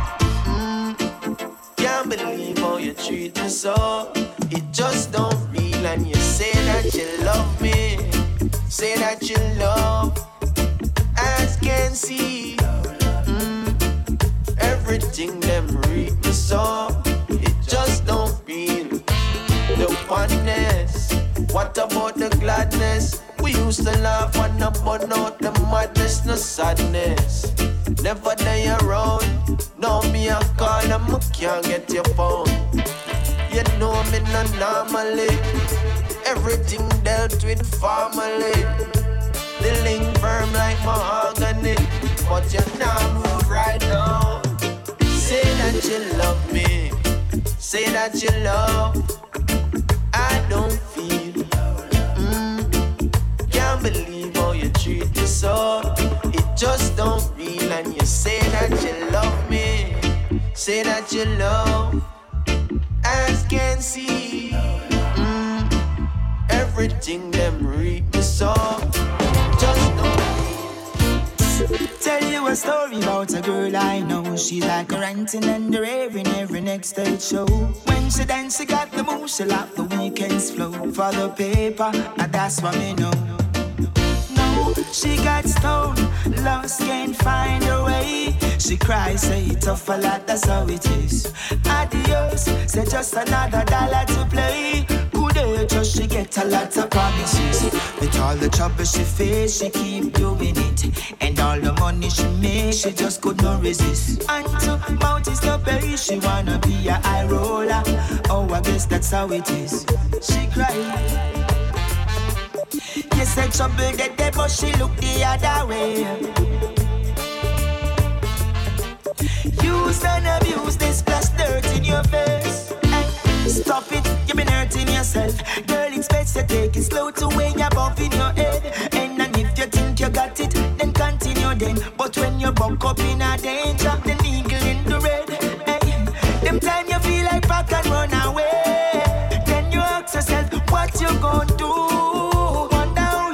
Can't believe how you treat me so. It just don't feel. And you say that you love me, say that you love, as can see. Everything them read me so. It just don't feel the oneness. What about the gladness? We used to laugh and not burn out the madness, no sadness. Never day around. Now me a call and I can't get your phone. You know me not normally. Everything dealt with formally. The link firm like mahogany, but you not move right now. Say that you love me, say that you love. I don't feel. Can't believe how you treat me so. It just don't feel. And you say that you love me, say that you love, as can see. Everything them read me so. Just don't feel.
Tell you a story about a girl I know. She's like a ranting and a raving every next stage show. When she dance, she got the moves, she like the weekend's flow. For the paper, and that's what me know. She got stoned, lost, can't find her way. She cries, say tough a lot, that's how it is. Adios, say just another dollar to play. Good age, she get a lot of promises. With all the trouble she face, she keep doing it. And all the money she make, she just could not resist. And to mount is the pay, she wanna be a high roller. Oh, I guess that's how it is. She cried. You said trouble dead there, but she look the other way. Use and abuse this splash dirt in your face. Hey, stop it, you've been hurting yourself. Girl, it's best to take it slow to way above in your head. And if you think you got it, then continue then. But when you buck up in a danger, the eagle in the red. Hey, them time you feel like back and run away. Then you ask yourself, what you gonna do? Wonder how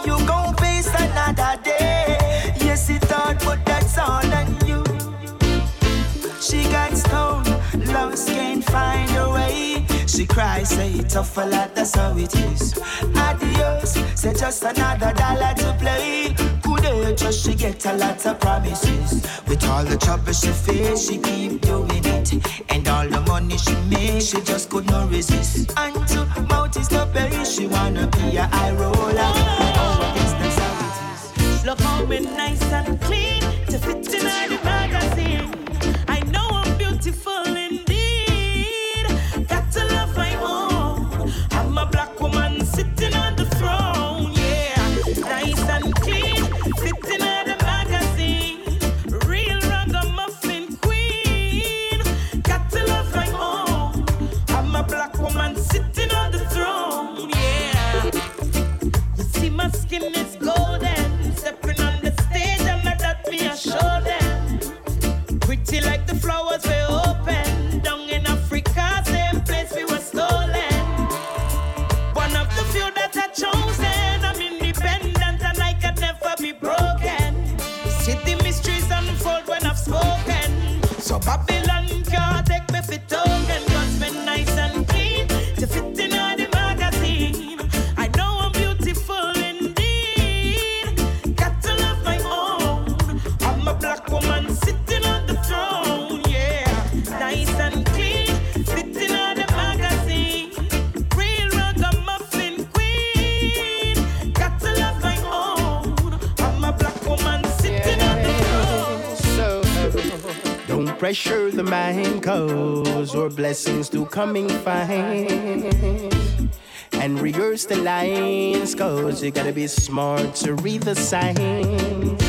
cry, say tough a lot, that's how it is. Adios, say just another dollar to play. Good just she get a lot of promises. With all the trouble she face, she keep doing it. And all the money she makes, she just could not resist. And to mouth is the pay, she wanna be a high roller. Oh, I guess that's how it is.
Look how me nice and clean to fit in all the magazine. I know I'm beautiful indeed. Got to love my own. I'm a black woman sitting on the throne. Yeah, nice and clean, fitting on the magazine. Real ragamuffin queen. Got to love my own. I'm a black woman sitting on the throne. Yeah, you see my skin is golden. Stepping on the stage and I that me a show them. Pretty like the flowers we open. Down in Africa, same place we were stolen. One of the few that are chosen. I'm independent and I can never be broken. See the mysteries unfold when I've spoken. So Babylon can't take me for token. Cause me nice and clean to fit in all the magazine. I know I'm beautiful indeed. Got to love my own. I'm a black woman sitting on the throne. Yeah, nice and clean, fitting on the magazine. Real ragamuffin queen. Got to love my own. I'm a black woman sitting on the throne.
Don't pressure the mind, cause your blessings do coming fine. And rehearse the lines, cause you gotta be smart to read the signs.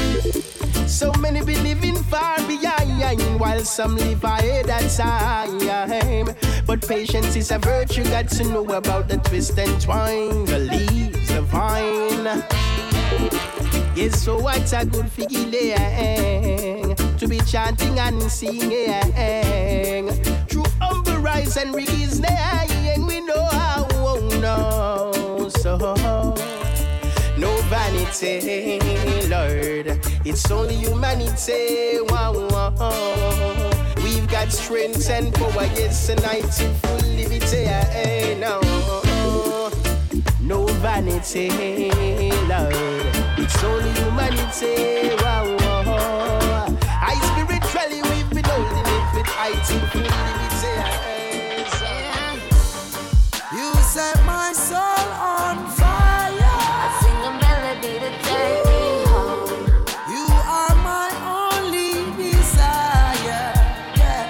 So many be living far behind, while some live ahead of time. But patience is a virtue, got to know about the twist and twine, the leaves, the vine. Yes, so what's a good feeling to be chanting and singing through humble rise and release name. We know how no, so no vanity, Lord. It's only humanity. Wow, wow. We've got strength and power, yes, and I to full liberty. No, no vanity, Lord. It's only humanity. Wow, wow. I spiritually we've been holding it with I to full liberty.
You set my soul on fire. I sing a melody to take me home. You are my only desire. Yeah.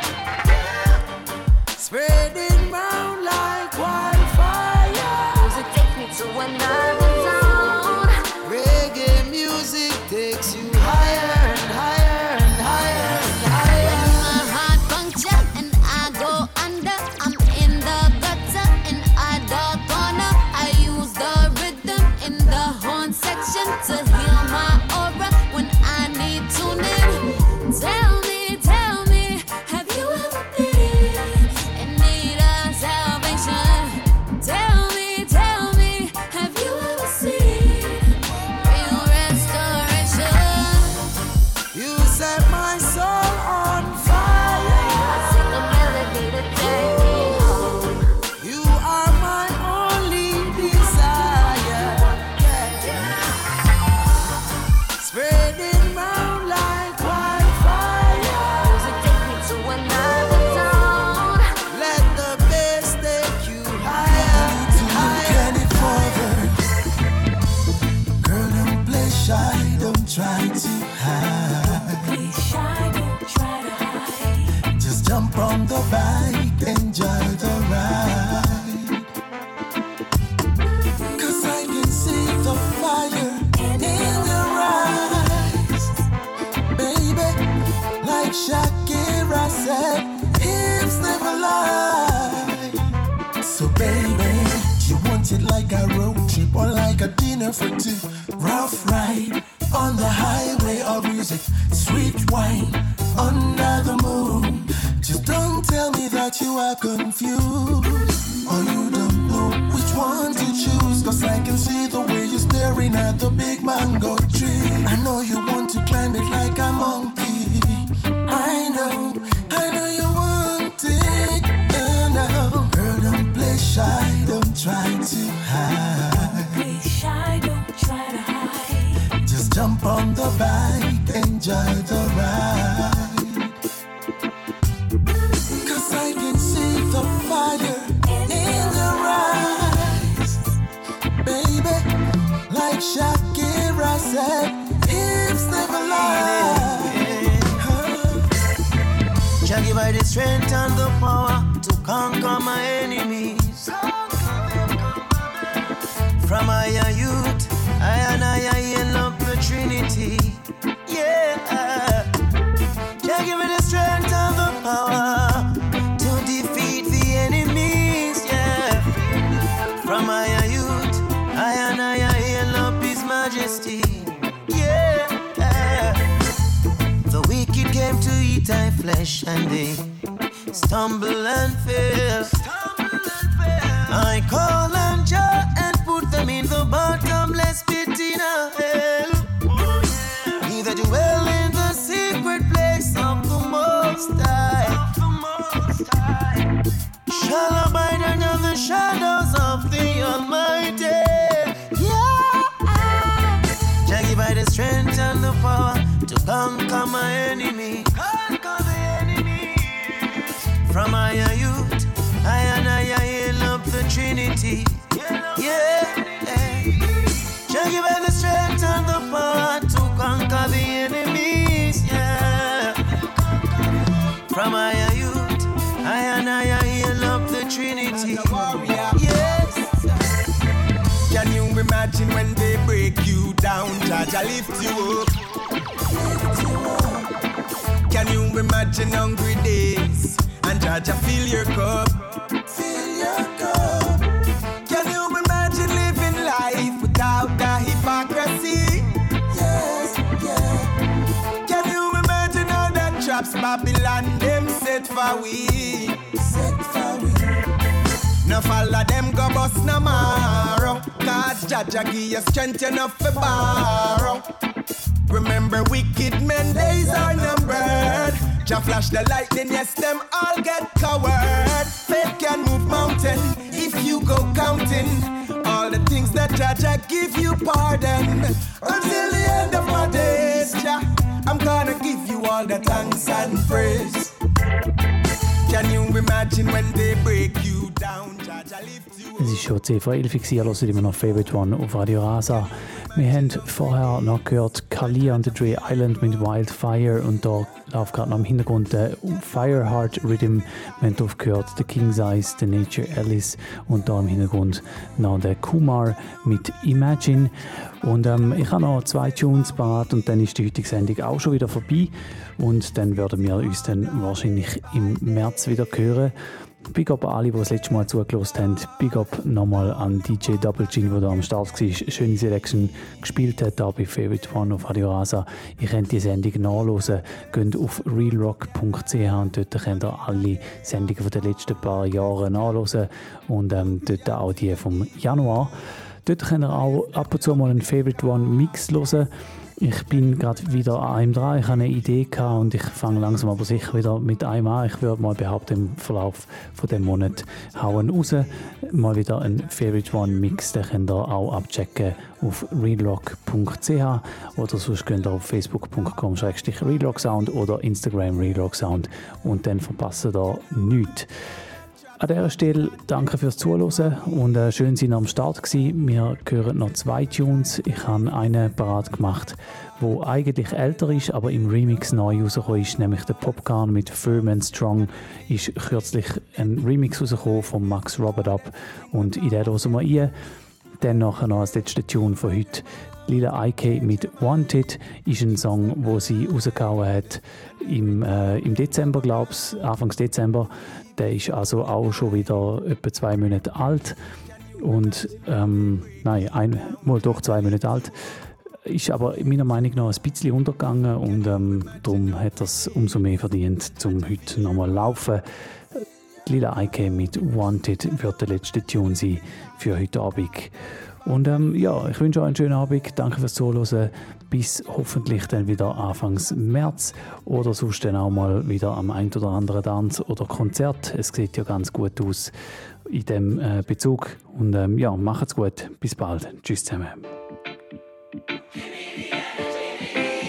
Spreading round like wildfire. Music takes me to another zone. Reggae music takes you higher and higher and higher and higher.
When my heart puncture and I go under, I'm in the gutter in a dark corner. I use the rhythm in the horn section to heal my aura when I need tuning. Tell me, have you ever been in need of salvation? Tell me, have you ever seen real restoration?
You set my soul on fire. I sing a melody to take me home. You are my only desire. Spreading round like wildfire. Music take me to another zone. Let the bass take you higher, higher.
Get it forward. Girl, don't play shy, don't try to hide.
Be shy, don't try to hide.
Just jump on the bike, enjoy the ride. Cause I can see the fire in your eyes. Baby, like Shakira said, hips never lie. So baby, you want it like a road trip or like a dinner for two? Rough ride on the highway of music, sweet wine under the moon. Just don't tell me that you are confused or you don't know which one to choose. Cause I can see the way you're staring at the big mango tree. I know you want to climb it like a monkey. I know you want it. And now, girl,
bike, enjoy the ride. 'Cause I can see the fire in your eyes, baby. Like Shakira said, hips never lie.
Jah give I the strength and the power to conquer my enemies. From my youth, I love the Trinity. Yeah. Jah give me the strength and the power to defeat the enemies. Yeah. From my youth, I love His Majesty. Yeah. The wicked came to eat thy flesh and they stumble and fail. I call on Jah and put them in the bottomless pit in hell. Neither dwell in the secret place of the Most High. Shall abide under the shadows of the Almighty. Yeah. Jah give I the strength and the power to conquer my enemy. Conquer the enemy. From my youth, I love the Trinity. Yeah. Jah give I the strength and the power to conquer the enemies. Yeah. From my youth, I love the Trinity. Yes.
Can you imagine when they break you down, Jah lift you up? Can you imagine hungry days and Jah fill your cup? Fill your cup. Can you imagine living life without the hypocrisy? Yes, yeah. Can you imagine all the traps Babylon them set for we? Set for we. No follow them go bust no marrow, 'cause Jah give you strength enough for borrow. Remember wicked men days are numbered. Jah flash the lightning, yes them all get covered. Faith can move mountain if you go counting all the things that Jah give you pardon. Until the end of my days, Jah, I'm gonna give you all the thanks and praise. Can you imagine when they break you down? Jah lift you up.
Es ist schon 10 vor 11 Uhr, hört immer noch Favorite One auf Radio Rasa. Wir haben vorher noch gehört Kali and the Dre Island mit Wildfire und da läuft gerade noch im Hintergrund der Fireheart Rhythm. Wir haben drauf gehört The King's Eyes, The Nature Alice und da im Hintergrund noch der Kumar mit Imagine. Und ich habe noch 2 Tunes parat und dann ist die heutige Sendung auch schon wieder vorbei und dann werden wir uns dann wahrscheinlich im März wieder hören. Big up an alle, die das letzte Mal zugelassen haben. Big up nochmal an DJ Double Gin, der da am Start war. Schöne Selection gespielt hat hier bei Favorite One auf Radio Rasa. Ihr könnt die Sendung nachhören. Geht auf realrock.ch und dort könnt ihr alle Sendungen der letzten paar Jahre nachhören. Und dort auch die vom Januar. Dort könnt ihr auch ab und zu mal einen Favorite One Mix hören. Ich bin gerade wieder an einem dran. Ich habe eine Idee gehabt und ich fange langsam aber sicher wieder mit einem an. Ich würde mal behaupten, im Verlauf von dem Monat hauen raus. Mal wieder ein Favorite One Mix. Den könnt ihr auch abchecken auf realrock.ch oder sonst könnt ihr auf facebook.com/realrocksound oder Instagram realrocksound und dann verpasst ihr nichts. An dieser Stelle danke fürs Zuhören und schön, dass ihr am Start gewesen. Wir hören noch 2 Tunes. Ich habe einen parat gemacht, der eigentlich älter ist, aber im Remix neu rausgekommen ist, nämlich der Popcorn mit Firm and Strong. Ist kürzlich ein Remix rausgekommen von Max Robert Up und in den hören wir rein. Dann nachher noch als letzter Tune von heute. Lila IK mit Wanted ist ein Song, wo sie rausgehauen hat im Dezember, glaube ich, Anfangs Dezember. Der ist also auch schon wieder etwa 2 Monate alt. Und, doch 2 Monate alt. Ist aber meiner Meinung nach ein bisschen untergegangen und darum hat er es umso mehr verdient, um heute nochmal laufen. Lila IK mit Wanted wird der letzte Tune sein für heute Abend. Und ich wünsche euch einen schönen Abend. Danke fürs Zuhören. Bis hoffentlich dann wieder Anfangs März oder sonst dann auch mal wieder am ein oder anderen Tanz oder Konzert. Es sieht ja ganz gut aus in dem Bezug. Und macht's gut. Bis bald. Tschüss zusammen.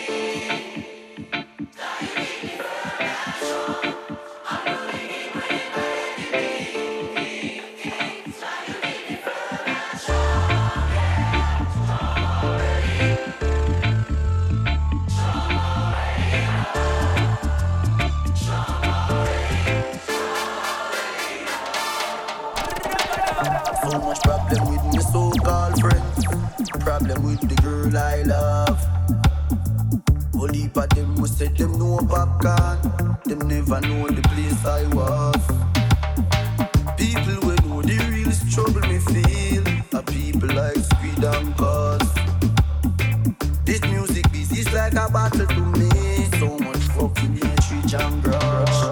problem with the girl I love. Only for them who said them know popcorn, them never know the place I was. People who know the real struggle me feel, are people like Speed and Buzz. This music business like a battle to me. So much fucking hatred and grudge.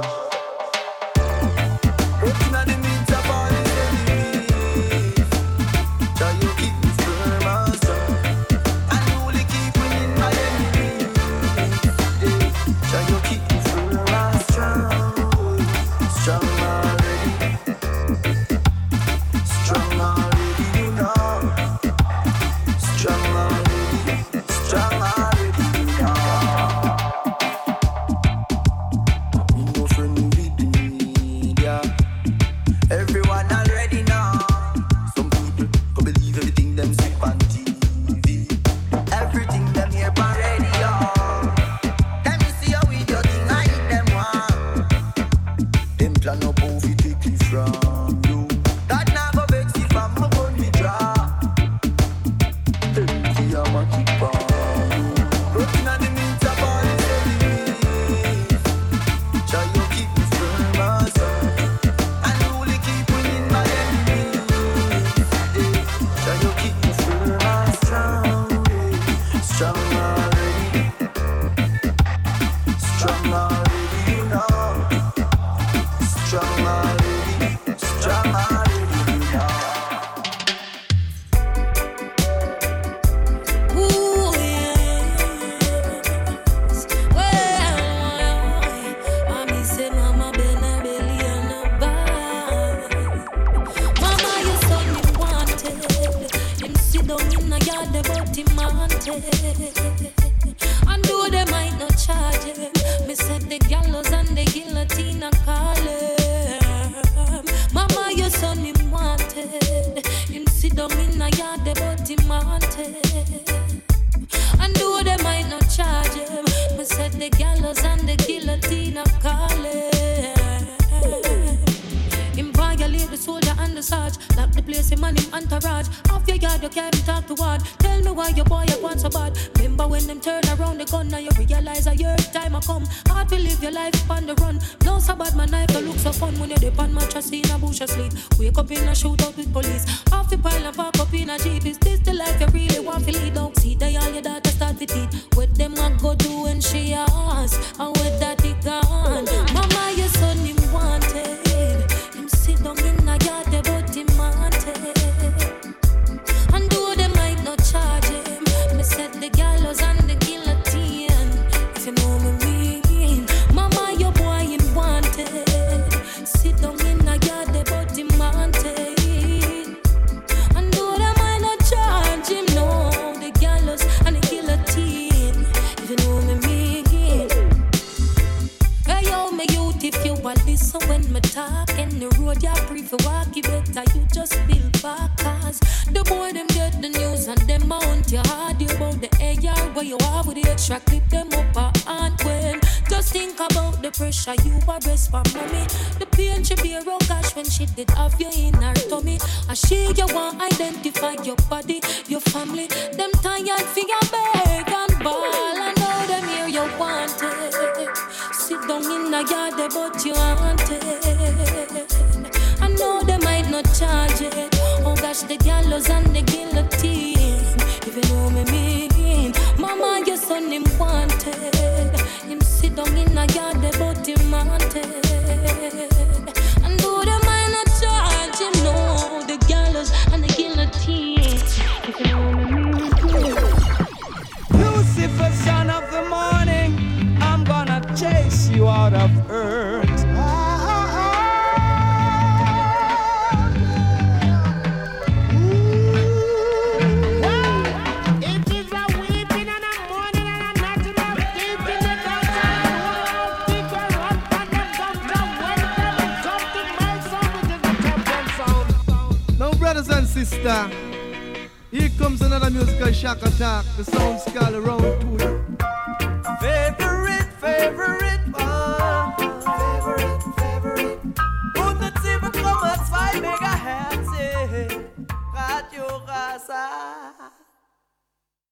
Looking at the means of all the enemies, try you keep me firm and strong, and only keep winning my enemies. Try you keep me firm and strong, strong already, strong already, you know, strong already, strong already, you know. Me no friend with the media. Everyone already know. Some people can believe everything them see on TV. Everything them hear on radio. Let me see how we do thing I hit them one. Them plan up how we take it from you. That now go vex if I'm a gun me draw. Tell me see how much it for you. Looking at the means of all the enemies. Try you keep me firm and strong, and only keep winning my enemies. Try you keep me firm and strong, strong already, strong already, you know, strong already, strong already, you know.
Ooh, yes. Well, mommy say mama belly and a bag. Mama, you son me wanted. Him sit down in a yard about him wanted. And though they might not charge him, me said the gallows and the guillotine a call him. Mama, your son him wanted. Him sit down in a yard about him wanted. And though they might not charge him, me said the gallows and the guillotine a call him. Him violate the soldier and the sarge, lock the place him and him entourage. Off your yard you can't talk to one. Tell me why your boy you want so bad. Remember when them turn around the gun, now you realize a your time a come. Hard to live your life on the run. No so bad, my knife don't look so fun when you dip on mattress in a bush asleep. Wake up in a shootout with police. Off the pile and park up in a jeep. Is this the life you really want to lead? Don't see that all your daughter start to teeth. What them a go do when she ask, and what that he gone. Mama, your son him wanted. Him sit down in a yard about him wanted. And though they might not charge him, me said the gallows and the guillotine. If you know me mean, mama, your boy him wanted. Sit down in a yard about him wanted. And though they might not charge him, no, the gallows and the guillotine. If you know me mean. Hey yo, me youth, if you want listen when me talk in the road, you prefer walk, you better you just build back. Cause the boy them get the news and them mount your hard. You about the AR where you are with the extra clip them up a hand when. Just think about the pressure you are rest for mommy. The pain she bear, oh gosh, when she did have you in her tummy. And she you want identify your body, your family. Them tired for your beg and ball. And now them here you wanted. Sit down in the yard but you wanted. I know they might not charge it. Oh gosh, the gallows and the guillotine. If you know me mean, mama, your son him wanted. Him sit down in a yard but him wanted. And though they might not charge him, no, the gallows and the guillotine. If you know me mean.
Lucifer, son of the morning, I'm gonna chase you out of earth.
Brothers and sisters, here comes another musical shock attack. The sound's called Round 2.